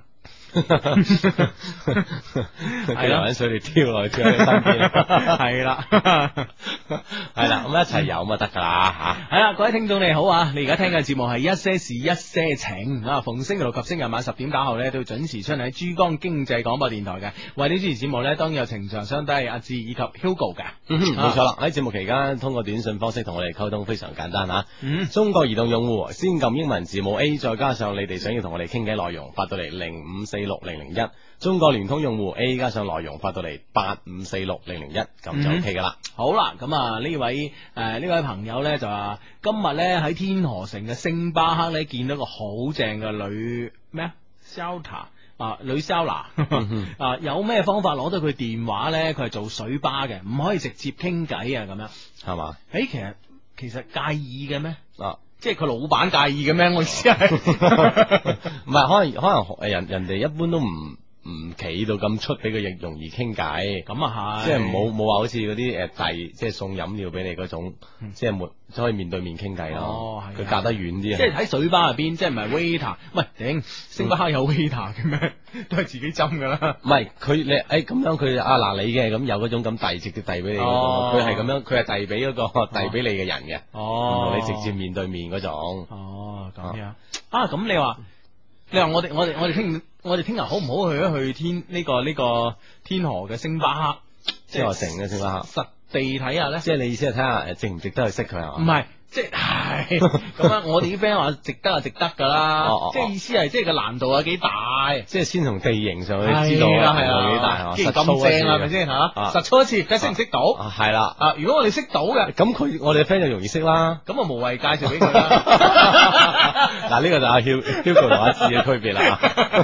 [SPEAKER 3] 係啦，搵水你跳落去跳喺你身邊。
[SPEAKER 1] 係啦，
[SPEAKER 3] 係啦，咁一齊游咪得噶啦吓。
[SPEAKER 1] 係啦，各位聽眾你好啊！你而家聽嘅節目係一些事一些情啊，逢星期六及星期日晚十點打後咧，都會準時出喺珠江經濟廣播電台嘅。為你主持節目咧，當然有情長相低阿志以及 Hugo 嘅。
[SPEAKER 3] 嗯哼，冇錯啦。喺節目期間，通過短信方式同我哋溝通非常簡單吓。
[SPEAKER 1] 嗯，
[SPEAKER 3] 中國移動用戶先撳英文字母 A， 再加上你哋想要同我哋傾偈內容，發到嚟零五四六零零一。中國聯通用戶 A 加上內容發到嚟八五四六零零一，咁就 OK 噶啦。
[SPEAKER 1] 好啦，咁啊呢位誒呢、呃、位朋友咧就話今日咧喺天河城嘅星巴克咧見到個好正嘅女咩啊 Selta 啊女 Selta 啊有咩方法攞到佢電話咧？佢係做水吧嘅，唔可以直接傾偈啊咁樣
[SPEAKER 3] 係嘛？
[SPEAKER 1] 誒其實其實介意嘅咩？
[SPEAKER 3] 啊
[SPEAKER 1] 即係佢老闆介意嘅咩？我意思係
[SPEAKER 3] 唔係可能可能誒人人哋一般都唔。唔企到咁出俾佢亦容易傾偈，
[SPEAKER 1] 咁啊係，
[SPEAKER 3] 即係冇冇話好似嗰啲誒遞即係送飲料俾你嗰種，嗯、即係沒可以面對面傾偈咯。哦，係。佢隔得遠啲啊。
[SPEAKER 1] 即係喺水吧入邊，即係唔係 waiter，唔係頂星巴克有 waiter 嘅咩？都係自己斟噶啦。
[SPEAKER 3] 唔係佢你誒咁樣佢啊嗱你嘅咁有嗰種咁遞直接遞俾你，佢係咁樣佢係遞俾嗰個遞俾你嘅人嘅。哦。你直接面對面嗰種。哦，咁樣啊？咁你話你話我哋我哋我哋聽。我哋聽日好唔好去一去天呢、這個呢、這個天河嘅星巴克，即係城嘅星巴克，實地睇下咧。即係你意思係睇下誒值唔值得去識佢係嘛？唔係，即係咁樣。我哋啲 friend 話值得啊，值得噶啦。哦哦即係意思係即係個難度有幾大？即係先從地形上去知道啦，係啊，幾大係嘛？既然咁正係咪先吓？實操一次，睇識唔識到？係啦。啊，如果我哋識到嘅，咁佢我哋嘅 friend 就容易識啦。咁啊無謂介紹俾佢啦。嗱，呢個就阿 Hugo 同阿志嘅區別啦。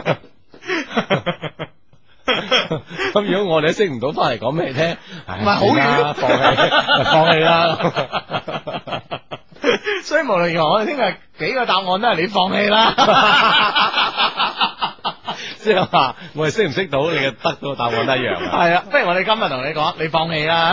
[SPEAKER 3] 咁如果我哋都識唔到，翻嚟講俾你聽，唔係好遠，放棄，放棄啦。所以無論如何，我哋聽日幾個答案都係你放棄啦。即係話我哋識唔識到你嘅得到嘅答案都一樣。係啊，不如我哋今日同你講，你放棄啦。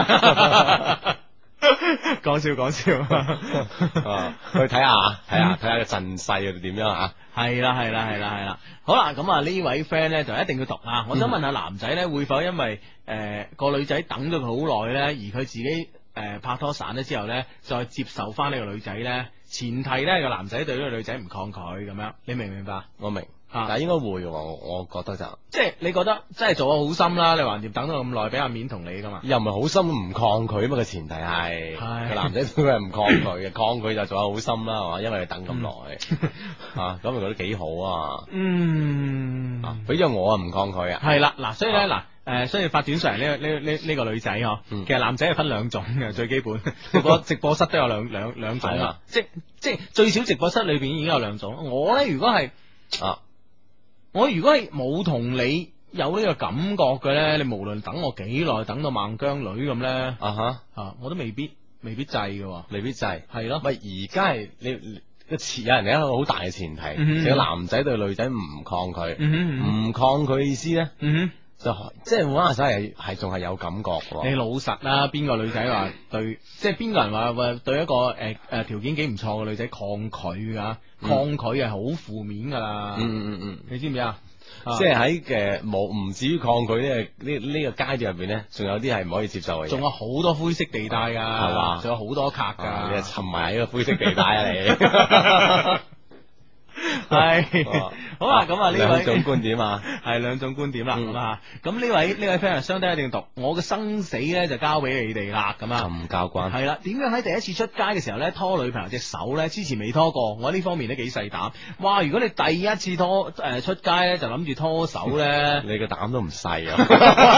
[SPEAKER 3] 講笑講笑，去睇下睇下睇下個陣勢又點樣啊？係啦係啦係啦係啦，好啦，咁啊呢位 friend 咧就一定要讀啊！我想問下男仔咧會否因為誒個女仔等咗佢好耐咧，而佢自己誒拍拖散咗之後咧，再接受翻呢個女仔咧？前提咧個男仔對呢個女仔唔抗拒咁樣，你明唔明白？我明。啊， 但係應該會嘅，我我覺得就
[SPEAKER 1] 即係你覺得真係做咗好心啦，你橫掂等咗咁耐，俾阿面同你噶嘛？
[SPEAKER 3] 又唔係好心唔抗拒啊嘛，個前提係個男仔都係唔抗拒嘅，抗拒就做咗好心啦，係嘛？因為你等咁耐啊，咁咪覺得幾好啊？
[SPEAKER 1] 嗯，
[SPEAKER 3] 俾咗我啊唔抗拒啊，
[SPEAKER 1] 係啦，嗱，所以咧嗱。誒，所以發短信嚟呢呢呢呢個女仔嗬，其實男仔係分兩種嘅，最基本直播直播室都有兩兩兩種啦，即即最少直播室裏邊已經有兩種。我咧如果係啊，我如果係冇同你有呢個感覺嘅咧，你無論等我幾耐，等到孟姜女咁咧，啊哈啊，我都未必未必制嘅，未必制，係咯。喂，而家係你個前有人哋一個好大嘅前提，其實男仔對女仔唔抗拒，唔抗拒意思咧。就即係玩下手係係仲係有感覺嘅。你老實啦，邊個女仔話對，即係邊個人話話對一個誒誒條件幾唔錯嘅女仔抗拒噶？嗯、抗拒係好負面噶啦。嗯嗯嗯，你知唔知啊？即係喺嘅冇唔至於抗拒呢個呢呢個階段入邊咧，仲有啲係唔可以接受嘅。仲有好多灰色地帶噶，係嘛？仲有好多卡噶、啊。你係沉埋喺個灰色地帶啊你。係好啦，咁啊呢位兩種觀點啊，係兩種觀點啦，咁啊，咁呢位呢位 friend 相對一定讀，我嘅生死咧就交俾你哋啦，咁啊，咁交關係啦。點樣喺第一次出街嘅時候咧拖女朋友隻手咧？之前未拖過，我呢方面都幾細膽。哇！如果你第一次拖誒、呃、出街咧，就諗住拖手咧，你個膽都唔細啊，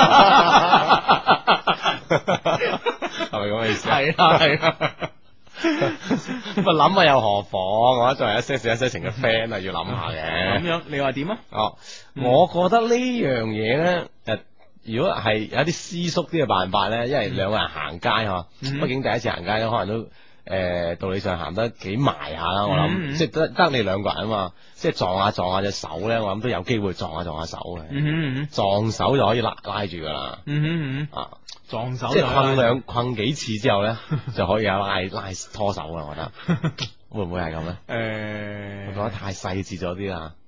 [SPEAKER 1] 係咪咁嘅意思？係啊，係啊。咁諗下又何妨？我作為一些事一些情嘅 friend 啊，要諗下嘅。咁樣你話點啊？哦，嗯、我覺得呢樣嘢咧，誒，如果係有一啲私縮啲嘅辦法咧，因為兩個人行街嗬，畢、嗯、竟第一次行街咧，可能都誒、呃、道理上行得幾埋下啦。我諗、嗯、即係得得你兩個人啊嘛，即係撞下撞下隻手咧，我諗都有機會撞下撞下手嘅。嗯、撞手就可以拉拉住噶啦。嗯嗯啊。撞手即係困兩困幾次之後咧，就可以有拉拉拖手啦。我覺得會唔會係咁咧？誒、欸，我覺得太細緻咗啲啦。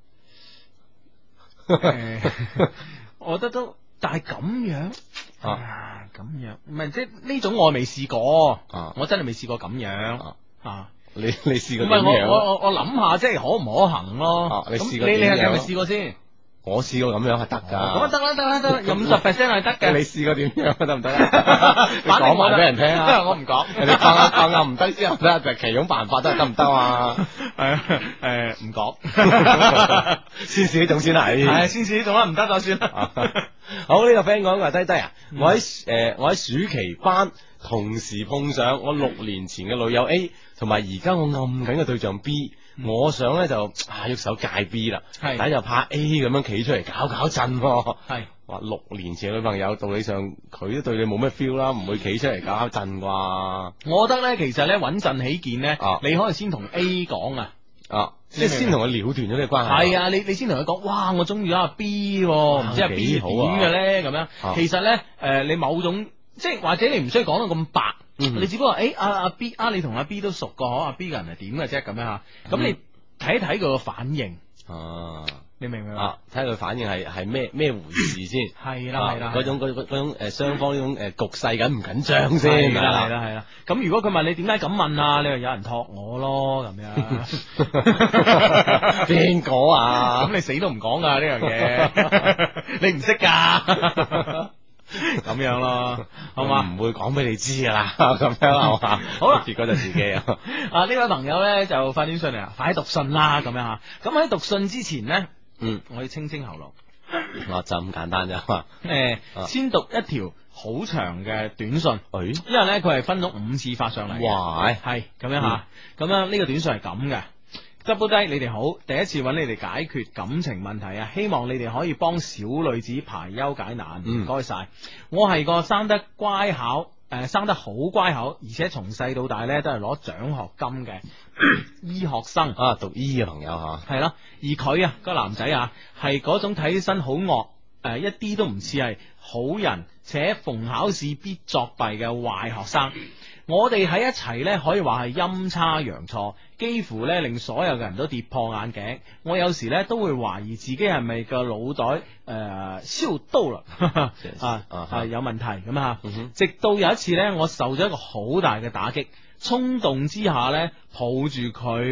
[SPEAKER 1] 我覺得都，但係咁樣啊，咁樣唔係即係呢種我未試過啊，我真係未試過咁樣啊。啊你你試過點樣？唔係我我我我諗下，即係可唔可行咯？啊、你試過你你係咪試過先？我試過咁樣係得噶，咁啊得啦得啦得啦，有五十 percent 係得嘅。你試過點樣得唔得啊？你講埋俾人聽啊！因為我唔講，人哋講下講下唔得之後咧，就其中辦法都係得唔得啊？係誒唔講，先試呢種先係，係先試呢種啦，唔得就算啦。好，呢個 friend 講話低低啊，我喺誒我喺暑期班同時碰上我六年前嘅女友 A，同埋而家我暗緊嘅對象 B。我想咧就啊喐手戒 B 啦，但係就怕 A 咁樣企出嚟搞搞震，係話六年前嘅女朋友，道理上佢都對你冇咩 feel 啦，唔會企出嚟搞搞震啩。我覺得咧，其實咧穩陣起見咧，啊、你可以先同 A 講啊，啊即係先同佢了斷咗呢個關係。係啊，你你先同佢講，哇，我中意咗阿 B，唔知阿 B 點嘅咧咁樣。啊、其實咧，誒、呃，你某種即係或者你唔需要講到咁白。嗯、你只不過誒阿阿 B 啊，你同阿 B 都熟個，阿 B 個人係點嘅啫咁樣吓，咁你睇一睇佢個反應，啊，你明唔明啊？睇下佢反應係係咩咩回事先？係啦係啦，嗰種嗰嗰種誒雙方呢種誒局勢緊唔緊張先？係啦係啦係啦。咁如果佢問你點解咁問啊？你話有人託我咯咁樣，邊個啊？咁你死都唔講噶呢樣嘢，你唔識噶。咁樣咯，好嘛？唔會講俾你知噶啦，咁樣係嘛？好啦，結果就自己啊！啊，呢位朋友咧就發短信嚟啊，快啲讀信啦，咁樣吓。咁喺讀信之前咧，嗯，我要清清喉嚨。我就咁簡單啫嘛。誒，先讀一條好長嘅短信，誒，因為咧佢係分咗五次發上嚟。哇，係咁樣吓，咁樣呢個短信係咁嘅。Double 低，你哋好，第一次揾你哋解決感情問題啊！希望你哋可以幫小女子排憂解難，唔該晒。我係個生得乖巧，誒、呃，生得好乖巧，而且從細到大咧都係攞獎學金嘅醫學生啊，讀醫嘅朋友吓，係咯。而佢啊，個男仔啊，係嗰種睇起身好惡，誒、呃，一啲都唔似係好人，且逢考試必作弊嘅壞學生。我哋喺一齊呢，可以話係陰差陽錯，幾乎呢令所有嘅人都跌破眼鏡。我有時呢都會懷疑自己係咪個腦袋誒燒刀啦，啊啊有問題咁啊！直到有一次呢，我受咗一個好大嘅打擊，衝動之下呢，抱住佢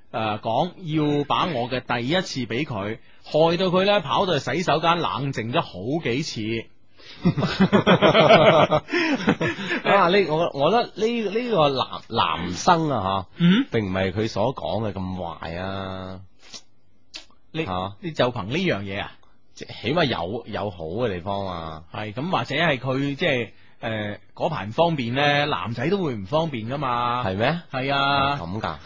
[SPEAKER 1] 誒講要把我嘅第一次俾佢，害到佢咧跑到去洗手間冷靜咗好幾次。
[SPEAKER 3] 啊！呢我我覺得呢呢個男男生啊吓，
[SPEAKER 1] 嗯，
[SPEAKER 3] 並唔係佢所講嘅咁壞啊。
[SPEAKER 1] 你
[SPEAKER 3] 吓
[SPEAKER 1] 你就憑呢樣嘢啊？
[SPEAKER 3] 即起碼有有好嘅地方啊。
[SPEAKER 1] 係咁，或者係佢即係誒嗰排唔方便咧，男仔都會唔方便噶嘛？
[SPEAKER 3] 係咩？
[SPEAKER 1] 係啊，
[SPEAKER 3] 咁噶。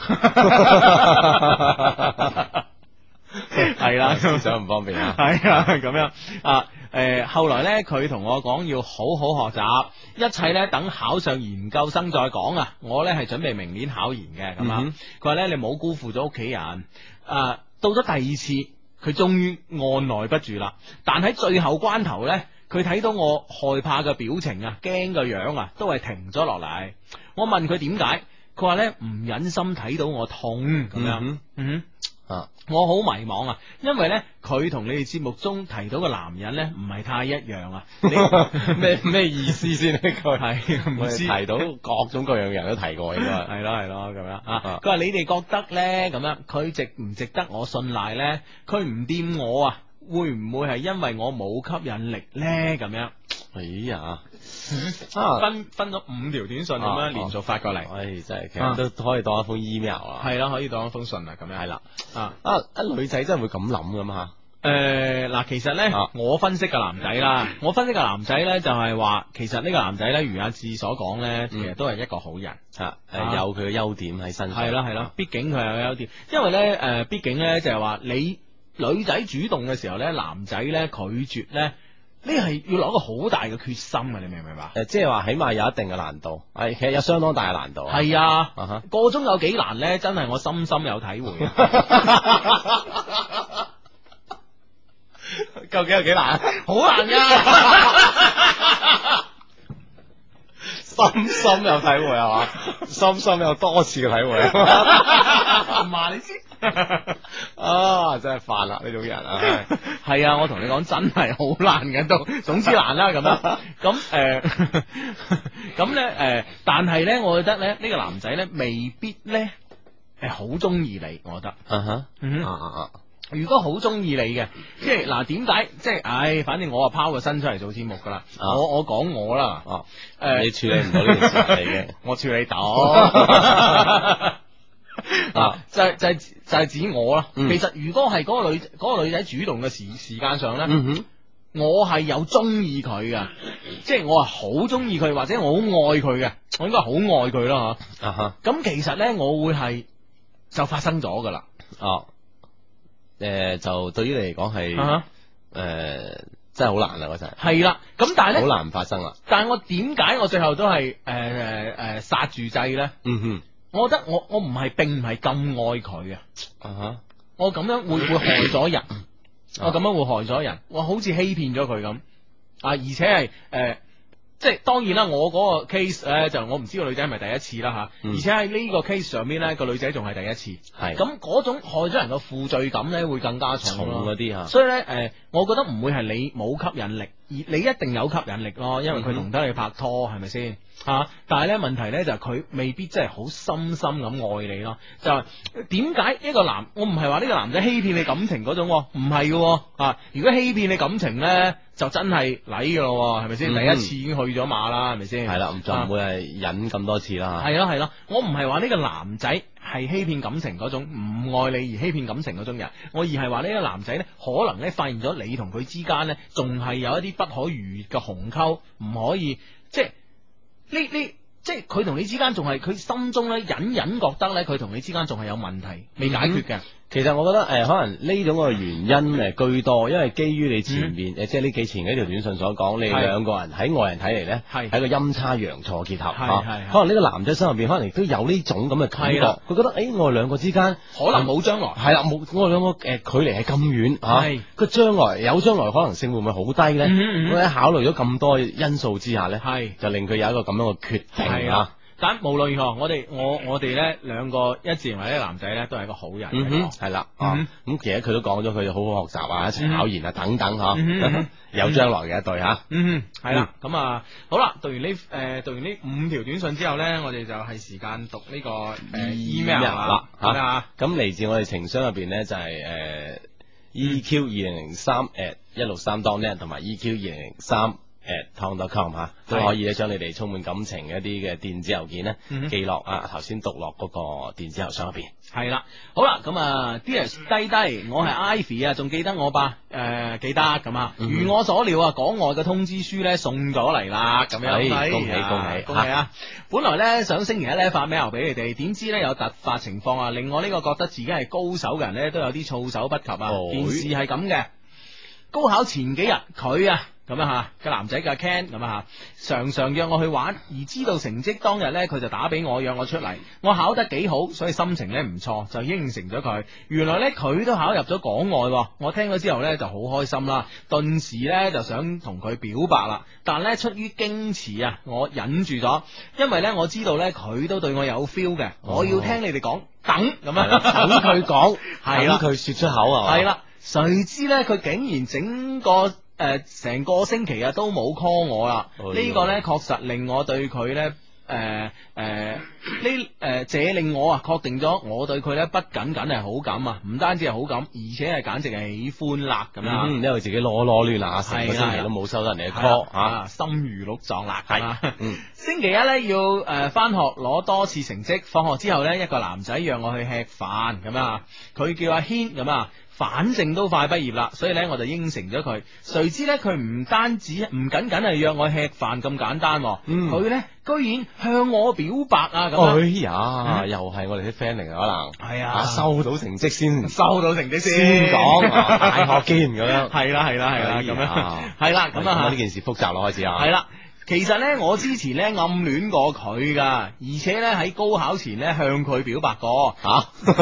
[SPEAKER 1] 係啦，
[SPEAKER 3] 思想唔方便啊。
[SPEAKER 1] 係啊，咁樣啊。誒、呃，後來咧，佢同我講要好好學習，一切咧等考上研究生再講啊！我咧係準備明年考研嘅，咁啊，佢話咧你冇辜負咗屋企人。啊，到咗第二次，佢終於按耐不住啦。但喺最後關頭咧，佢睇到我害怕嘅表情啊，驚嘅樣啊，都係停咗落嚟。我問佢點解，佢話咧唔忍心睇到我痛咁樣。嗯，嗯啊，我好迷茫啊，因為咧佢同你哋節目中提到嘅男人咧唔係太一樣啊。
[SPEAKER 3] 咩咩意思先？呢句
[SPEAKER 1] 係唔知
[SPEAKER 3] 提到各種各樣人都提過，應該
[SPEAKER 1] 係咯係咯咁樣啊。佢話你哋覺得咧咁樣，佢值唔值得我信賴咧？佢唔掂我啊，會唔會係因為我冇吸引力咧？咁樣，
[SPEAKER 3] 哎呀，
[SPEAKER 1] 啊分分咗五條短信咁樣連續發過嚟，
[SPEAKER 3] 唉，真係其實都可以當一封 email 啊。
[SPEAKER 1] 係啦，可以當一封信啊，咁樣
[SPEAKER 3] 係啦。
[SPEAKER 1] 啊
[SPEAKER 3] 啊，一女仔真係會咁諗噶嘛？
[SPEAKER 1] 誒，嗱，其實咧，
[SPEAKER 3] 啊
[SPEAKER 1] 我分析嘅男仔啦，我分析嘅男仔咧就係話，其實呢個男仔咧，如阿志所講咧，其實都係一個好人
[SPEAKER 3] 啊，誒，有佢嘅優點喺身上。
[SPEAKER 1] 係啦係啦，畢竟佢有優點，因為咧誒，畢竟咧就係話你女仔主動嘅時候咧，男仔咧拒絕咧。呢係要攞個好大嘅決心啊！你明唔明白？
[SPEAKER 3] 誒，即係話起碼有一定嘅難度，係其實有相當大嘅難度。
[SPEAKER 1] 係啊，
[SPEAKER 3] 啊哈，
[SPEAKER 1] 個中有幾難咧？真係我深深有體會。
[SPEAKER 3] 究竟有幾難？
[SPEAKER 1] 好難噶，
[SPEAKER 3] 深深有體會係嘛？深深有多次嘅體會。
[SPEAKER 1] 唔話你知。
[SPEAKER 3] 啊，真係煩啦呢種人啊！
[SPEAKER 1] 係啊，我同你講真係好難嘅都，總之難啦咁樣。咁誒，咁咧誒，但係咧，我覺得咧呢個男仔咧未必咧係好中意你，我覺得。
[SPEAKER 3] 嗯哼，
[SPEAKER 1] 嗯
[SPEAKER 3] 啊啊啊！
[SPEAKER 1] 如果好中意你嘅，即係嗱，點解即係？唉，反正我啊拋個身出嚟做節目噶啦。我我講我啦。哦，誒，
[SPEAKER 3] 你處理唔到呢件事嚟嘅，
[SPEAKER 1] 我處理到。啊，就係就係就係指我啦。其實如果係嗰個女嗰個女仔主動嘅時時間上咧，
[SPEAKER 3] 嗯哼，
[SPEAKER 1] 我係有中意佢嘅，即係我係好中意佢，或者我好愛佢嘅，我應該好愛佢啦吓。啊哈，咁其實咧我會係就發生咗噶啦。哦，
[SPEAKER 3] 誒，就對於你嚟講係誒真係好難啦嗰陣。係
[SPEAKER 1] 啦，咁但係咧
[SPEAKER 3] 好難發生啦。
[SPEAKER 1] 但係我點解我最後都係誒誒誒剎住掣咧？嗯哼。我覺得我我唔係並唔係咁愛佢啊，啊哈！我咁樣會會害咗人，我咁樣會害咗人，我好似欺騙咗佢咁啊！而且係誒、呃，即係當然啦，我嗰個 case 咧就我唔知個女仔係咪第一次啦吓，嗯、而且喺呢個 case 上邊咧個女仔仲係第一次，係咁嗰種害咗人嘅負罪感咧會更加重嗰啲吓，所以咧誒、呃，我覺得唔會係你冇吸引力，而你一定有吸引力咯，因為佢同得你拍拖係咪先？吓，但係咧問題咧就係佢未必真係好深深咁愛你咯。就係點解一個男，我唔係話呢個男仔欺騙你感情嗰種，唔係嘅啊。如果欺騙你感情咧，就真係禮嘅咯，係咪先？嗯、第一次已經去咗馬啦，係咪先？係啦，就唔會係忍咁多次啦。係咯係咯，我唔係話呢個男仔係欺騙感情嗰種，唔愛你而欺騙感情嗰種人，我而係話呢個男仔咧，可能咧發現咗你同佢之間咧，仲係有一啲不可逾越嘅鴻溝，唔可以即係。呢呢即係佢同你之間仲係佢心中咧隱隱覺得咧佢同你之間仲係有問題未解決嘅。其實我覺得誒、呃，可能呢種嘅原因誒居多，因為基於你前面誒、嗯、即係呢幾前幾條短信所講，你兩個人喺外人睇嚟咧係一個陰差陽錯結合，係係可能呢個男仔心入邊可能亦都有呢種咁嘅感覺，佢覺得誒、欸、我哋兩個之間可能冇將來，係啦冇我哋兩個誒、呃、距離係咁遠嚇，個將來有將來可能性會唔會好低咧？咁喺、嗯嗯、考慮咗咁多因素之下咧，係就令佢有一個咁樣嘅決定啊。 但無論如何，我哋我我哋咧兩個一致認為呢個男仔咧都係一個好人。
[SPEAKER 3] 嗯哼，係啦，啊，咁其實佢都講咗，佢好好學習啊，一齊考研啊，等等嗬，有將來嘅一對吓。
[SPEAKER 1] 嗯，係啦，咁啊，好啦，讀完呢誒讀完呢五條短信之後咧，我哋就係時間讀呢個誒 email 啦，吓，
[SPEAKER 3] 咁嚟自我哋情商入邊咧就係誒 E Q 二零零三 at 一六三 dot net 同埋 E Q 二零零三。at tom dot com 吓，都可以咧將你哋充滿感情嘅一啲嘅電子郵件咧寄落啊頭先讀落嗰個電子郵箱入邊。
[SPEAKER 1] 係啦，好啦，咁啊 Dear 低低，我係 Ivy 啊，仲記得我吧？誒、呃，記得咁啊，如我所料啊，港外嘅通知書咧送咗嚟啦，咁樣，
[SPEAKER 3] 恭喜恭喜
[SPEAKER 1] 恭喜啊！本來咧想星期一咧發 mail 俾你哋，點知咧有突發情況啊，令我呢個覺得自己係高手嘅人咧都有啲措手不及啊！
[SPEAKER 3] 哦、
[SPEAKER 1] 件事係咁嘅，高考前幾日佢啊。咁啊吓，個男仔叫 Ken 咁啊吓，常常約我去玩，而知道成績當日呢，佢就打俾我約我出嚟。我考得幾好，所以心情呢唔錯，就應承咗佢。原來呢，佢都考入咗港外，我聽咗之後呢就好開心啦，頓時呢就想同佢表白啦。但呢，出於矜持啊，我忍住咗，因為呢，我知道呢，佢都對我有 feel 嘅，我要聽你哋講，等咁啊，
[SPEAKER 3] 等佢講，
[SPEAKER 1] 係啦，
[SPEAKER 3] 等佢說出口啊，
[SPEAKER 1] 係啦，誰知呢，佢竟然整個。誒，成、呃、個星期啊都冇 call 我啦，哦、呢個呢確實令我對佢呢，誒、呃、誒，呢、呃、誒，這令我啊確定咗我對佢呢不僅僅係好感啊，唔單止係好感，而且係簡直係喜歡啦咁樣，
[SPEAKER 3] 嗯，因為自己攞攞亂啦，成個星期都冇收到人哋嘅 call 啊，
[SPEAKER 1] 心如鹿撞啦，係
[SPEAKER 3] 啊，嗯，
[SPEAKER 1] 星期一呢要誒翻學攞多次成績，放學之後呢，一個男仔約我去吃飯咁啊，佢叫阿軒咁啊。反正都快畢業啦，所以咧我就應承咗佢。誰知咧佢唔單止唔僅僅係約我吃飯咁簡單，佢咧、嗯、居然向我表白啊！咁
[SPEAKER 3] 哎呀，嗯、又係我哋啲 friend 嚟嘅可能。係啊，收到成績先，
[SPEAKER 1] 收到成績先
[SPEAKER 3] 先講大學見咁樣。
[SPEAKER 1] 係啦係啦係啦咁樣，係啦咁啊
[SPEAKER 3] 呢件事複雜咯開始啊。
[SPEAKER 1] 係啦。其實咧，我之前咧暗戀過佢噶，而且咧喺高考前咧向佢表白過。吓，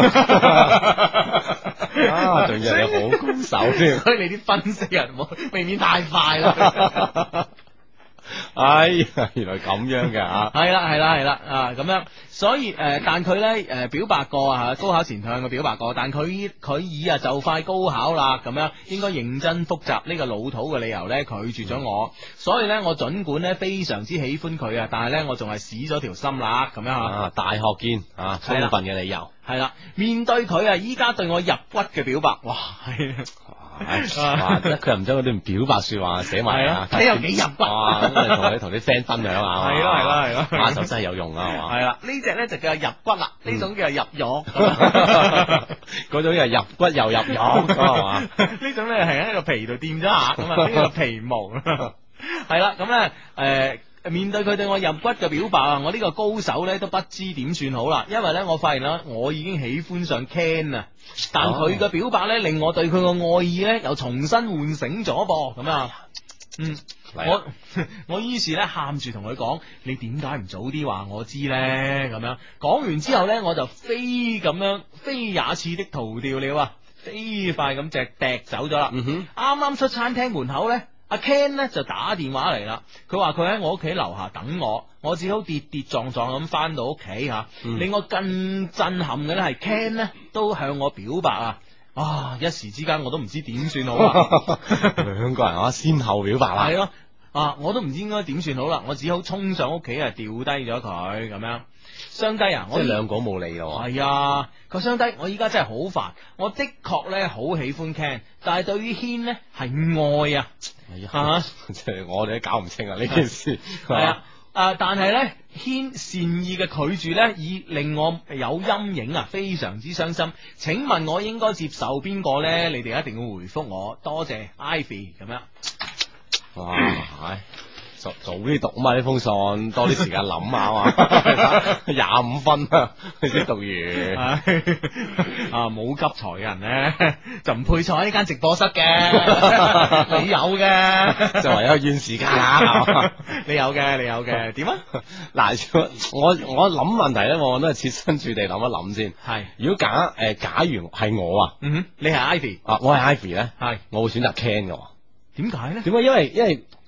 [SPEAKER 3] 啊，仲要你好高手添，
[SPEAKER 1] 所以你啲分析人冇未免太快啦。
[SPEAKER 3] 哎呀，原來咁樣嘅吓，
[SPEAKER 1] 係啦係啦係啦啊咁樣，所以誒、呃，但佢咧誒表白過啊，高考前向佢表白過，但佢佢以啊就快高考啦，咁樣應該認真復習呢個老土嘅理由咧拒絕咗我，所以咧我盡管咧非常之喜歡佢啊，但係咧我仲係死咗條心啦，咁樣
[SPEAKER 3] 啊，大學見啊，充分嘅理由
[SPEAKER 1] 係啦，面對佢啊，依家對我入骨嘅表白，哇係。
[SPEAKER 3] 哇！佢又唔將嗰啲表白說話寫埋啊，
[SPEAKER 1] 睇有幾入骨
[SPEAKER 3] 啊！咁你同你同啲 friend 分享下，
[SPEAKER 1] 係咯係咯係咯，
[SPEAKER 3] 啊就真係有用啊，係嘛？
[SPEAKER 1] 係啦，呢隻咧就叫入骨啦，呢種叫入肉，
[SPEAKER 3] 嗰種又入骨又入肉，係嘛？
[SPEAKER 1] 呢種咧係喺個皮度掂咗下，咁啊呢個皮毛，係啦，咁咧誒。面對佢對我入骨嘅表白啊，我呢個高手呢都不知點算好啦，因為呢，我發現啦，我已經喜歡上 Ken 啊，但佢嘅表白呢令我對佢嘅愛意呢又重新喚醒咗噃，咁啊，嗯，我我於是呢喊住同佢講，你點解唔早啲話我知呢？咁樣講完之後呢，我就飛咁樣飛也似的逃掉了啊，飛快咁隻趯走咗啦，嗯哼，啱啱出餐廳門口呢。阿 Ken 咧就打電話嚟啦，佢話佢喺我屋企樓下等我，我只好跌跌撞撞咁翻到屋企吓。嗯、令我更震撼嘅咧係 Ken 咧都向我表白啊！啊，一時之間我都唔知點算好啊！
[SPEAKER 3] 兩個人啊，先後表白啦，
[SPEAKER 1] 係咯啊，我都唔知應該點算好啦，我只好衝上屋企啊，掉低咗佢咁樣。雙低啊，我
[SPEAKER 3] 即係兩個冇理咯。
[SPEAKER 1] 係啊，個雙低，我依家真係好煩。我的確咧好喜歡 Ken，但係對於軒呢係愛啊。
[SPEAKER 3] 係啊，即係我哋都搞唔清啊呢件事。
[SPEAKER 1] 係啊，啊但係咧軒善意嘅拒絕咧，已令我有陰影啊，非常之傷心。請問我應該接受邊個咧？你哋一定要回覆我，多謝 Ivy 咁樣。
[SPEAKER 3] 哇，係。早早啲讀啊嘛，呢封信多啲時間諗下嘛，廿五分啊，先讀完
[SPEAKER 1] 啊，冇急才嘅人咧就唔配坐喺呢間直播室嘅，你有嘅，
[SPEAKER 3] 就唯有怨時間啊，
[SPEAKER 1] 你有嘅，你有嘅，點啊？
[SPEAKER 3] 嗱，我我諗問題咧，我都係設身處地諗一諗先。係，如果假誒，假如係我啊，
[SPEAKER 1] 嗯哼，你係 Ivy
[SPEAKER 3] 啊，我係 Ivy 咧，
[SPEAKER 1] 係，
[SPEAKER 3] 我會選擇 Ken 嘅。
[SPEAKER 1] 點解咧？
[SPEAKER 3] 點解？因為因為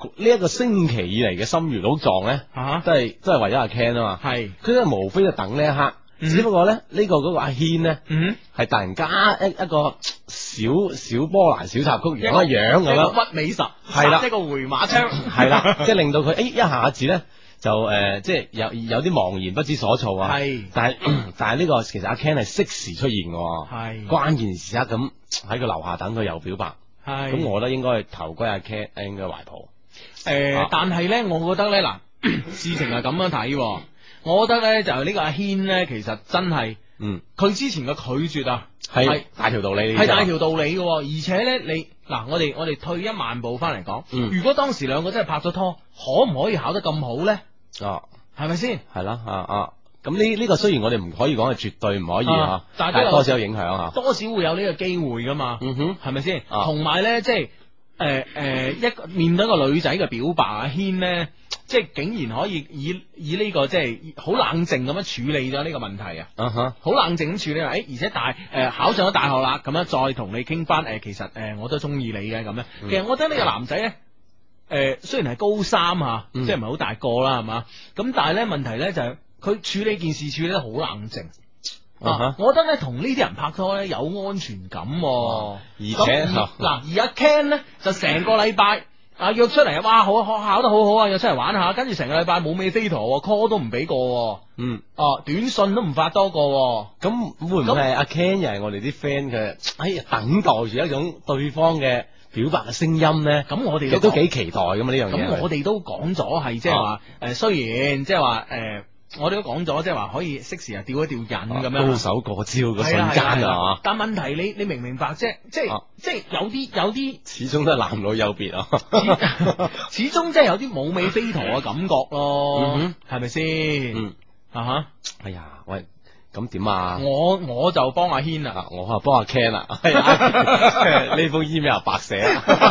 [SPEAKER 3] 呢一個星期以嚟嘅心如鹿撞咧，
[SPEAKER 1] 啊
[SPEAKER 3] 都係都係為咗阿 Ken 啊嘛，
[SPEAKER 1] 係
[SPEAKER 3] 佢都係無非就等呢一刻。只不過咧，呢個嗰個阿軒咧，
[SPEAKER 1] 嗯
[SPEAKER 3] 係突然加一一個小小波蘭小插曲，樣一樣咁樣，
[SPEAKER 1] 屈尾十，
[SPEAKER 3] 係啦，
[SPEAKER 1] 一個回馬槍，
[SPEAKER 3] 係啦，即係令到佢誒一下子咧就誒，即係有有啲茫然不知所措啊。
[SPEAKER 1] 係，
[SPEAKER 3] 但係但係呢個其實阿 Ken 係適時出現嘅，
[SPEAKER 1] 係
[SPEAKER 3] 關鍵時刻咁喺佢樓下等佢又表白，
[SPEAKER 1] 係，
[SPEAKER 3] 咁我覺得應該係投歸阿 Ken 應該懷抱。
[SPEAKER 1] 誒，但係咧，我覺得咧嗱，事情係咁樣睇。我覺得咧就係呢個阿軒咧，其實真係，
[SPEAKER 3] 嗯，
[SPEAKER 1] 佢之前嘅拒絕啊，
[SPEAKER 3] 係大條道理，
[SPEAKER 1] 係大條道理嘅，而且咧你嗱，我哋我哋退一萬步翻嚟講，
[SPEAKER 3] 嗯，
[SPEAKER 1] 如果當時兩個真係拍咗拖，可唔可以考得咁好咧？
[SPEAKER 3] 哦，
[SPEAKER 1] 係咪先？
[SPEAKER 3] 係啦，啊啊，咁呢呢個雖然我哋唔可以講係絕對唔可以啊，
[SPEAKER 1] 但係
[SPEAKER 3] 多少有影響啊，
[SPEAKER 1] 多少會有呢個機會噶嘛，
[SPEAKER 3] 嗯哼，
[SPEAKER 1] 係咪先？同埋咧，即係誒誒，一個面對一個女仔嘅表白，阿軒咧。即係竟然可以以以呢、這個即係好冷靜咁樣處理咗呢個問題啊！
[SPEAKER 3] 啊哈、uh，好、
[SPEAKER 1] huh. 冷靜咁處理，誒、欸，而且大誒、呃、考上咗大學啦，咁樣再同你傾翻誒，其實誒、呃、我都中意你嘅咁樣。
[SPEAKER 3] 嗯、
[SPEAKER 1] 其實我覺得呢個男仔咧，誒、呃、雖然係高三吓，嗯、即係唔係好大個啦，係嘛？咁但係咧問題咧就係、是、佢處理件事處理得好冷靜。啊
[SPEAKER 3] 啊哈
[SPEAKER 1] 我覺得咧同呢啲人拍拖咧有安全感、啊，
[SPEAKER 3] 而且
[SPEAKER 1] 嗱而阿 Ken 咧就成個禮拜。啊約出嚟啊，哇好考考得好好啊，約出嚟玩下，跟住成個禮拜冇尾飛陀 call 都唔俾過，
[SPEAKER 3] 嗯，
[SPEAKER 1] 哦、啊、短信都唔發多個，
[SPEAKER 3] 咁會唔會係阿 Ken 又係我哋啲 friend 嘅？哎呀，等待住一種對方嘅表白嘅聲音咧，
[SPEAKER 1] 咁我哋
[SPEAKER 3] 都都幾期待噶嘛呢樣嘢。
[SPEAKER 1] 咁我哋都講咗係即係話誒，雖然即係話誒。我哋都講咗，即係話可以適時啊吊一吊人咁樣，
[SPEAKER 3] 高手過招嘅瞬間啊！
[SPEAKER 1] 但問題你你明唔明白啫？即係、啊、即係有啲有啲，
[SPEAKER 3] 始終都係男女有別啊！
[SPEAKER 1] 始終即係有啲冇尾飛陀嘅感覺咯，係咪先？
[SPEAKER 3] 嗯
[SPEAKER 1] 啊哈！
[SPEAKER 3] 哎呀，喂，咁點啊？
[SPEAKER 1] 我我就幫阿軒啦，
[SPEAKER 3] 我啊幫阿 Ken 啦，呢封 email 白寫。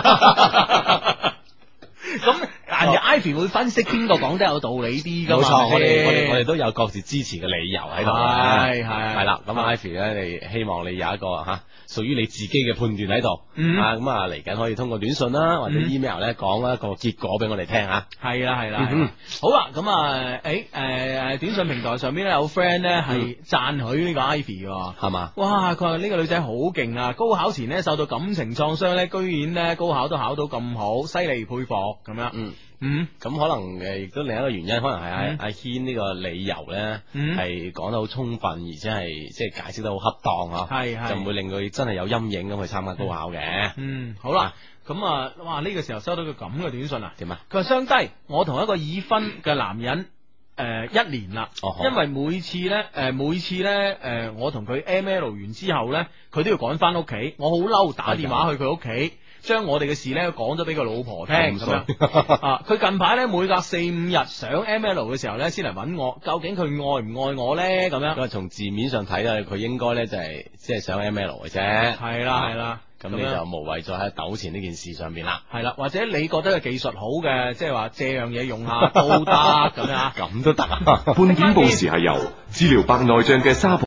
[SPEAKER 3] 咁人哋 Ivy 會分析邊個講得有道理啲噶嘛？冇錯，我哋我哋我哋都有各自支持嘅理由喺度。係係係啦，咁 Ivy 咧，你希望你有一個吓屬於你自己嘅判斷喺度。啊，咁啊嚟緊可以通過短信啦，或者 email 咧講一個結果俾我哋聽吓。係啦係啦，好啦，咁啊，誒誒，短信平台上邊咧有 friend 咧係讚許呢個 Ivy 嘅，係嘛？哇，佢話呢個女仔好勁啊！高考前咧受到感情創傷咧，居然咧高考都考到咁好，犀利佩服。咁樣，嗯嗯，咁可能誒，亦都另一個原因，可能係阿阿軒呢個理由咧，係講得好充分，而且係即係解釋得好恰當吓，係係，就唔會令佢真係有陰影咁去參加高考嘅。嗯，好啦，咁啊，哇，呢個時候收到個咁嘅短信啊，點啊？佢話相低，我同一個已婚嘅男人誒一年啦，因為每次咧誒每次咧誒我同佢 M L 完之後咧，佢都要趕翻屋企，我好嬲，打電話去佢屋企。將我哋嘅事咧講咗俾個老婆聽咁樣啊！佢近排咧每隔四五日上 M L 嘅時候咧，先嚟揾我。究竟佢愛唔愛我咧？咁樣，咁啊從字面上睇咧，佢應該咧就係即係上 M L 嘅啫。係啦係啦，咁你就無謂再喺糾纏呢件事上邊啦。係啦，或者你覺得嘅技術好嘅，即係話借樣嘢用下都得咁樣，咁都得啊！
[SPEAKER 4] 半點報時係由治療白內障嘅沙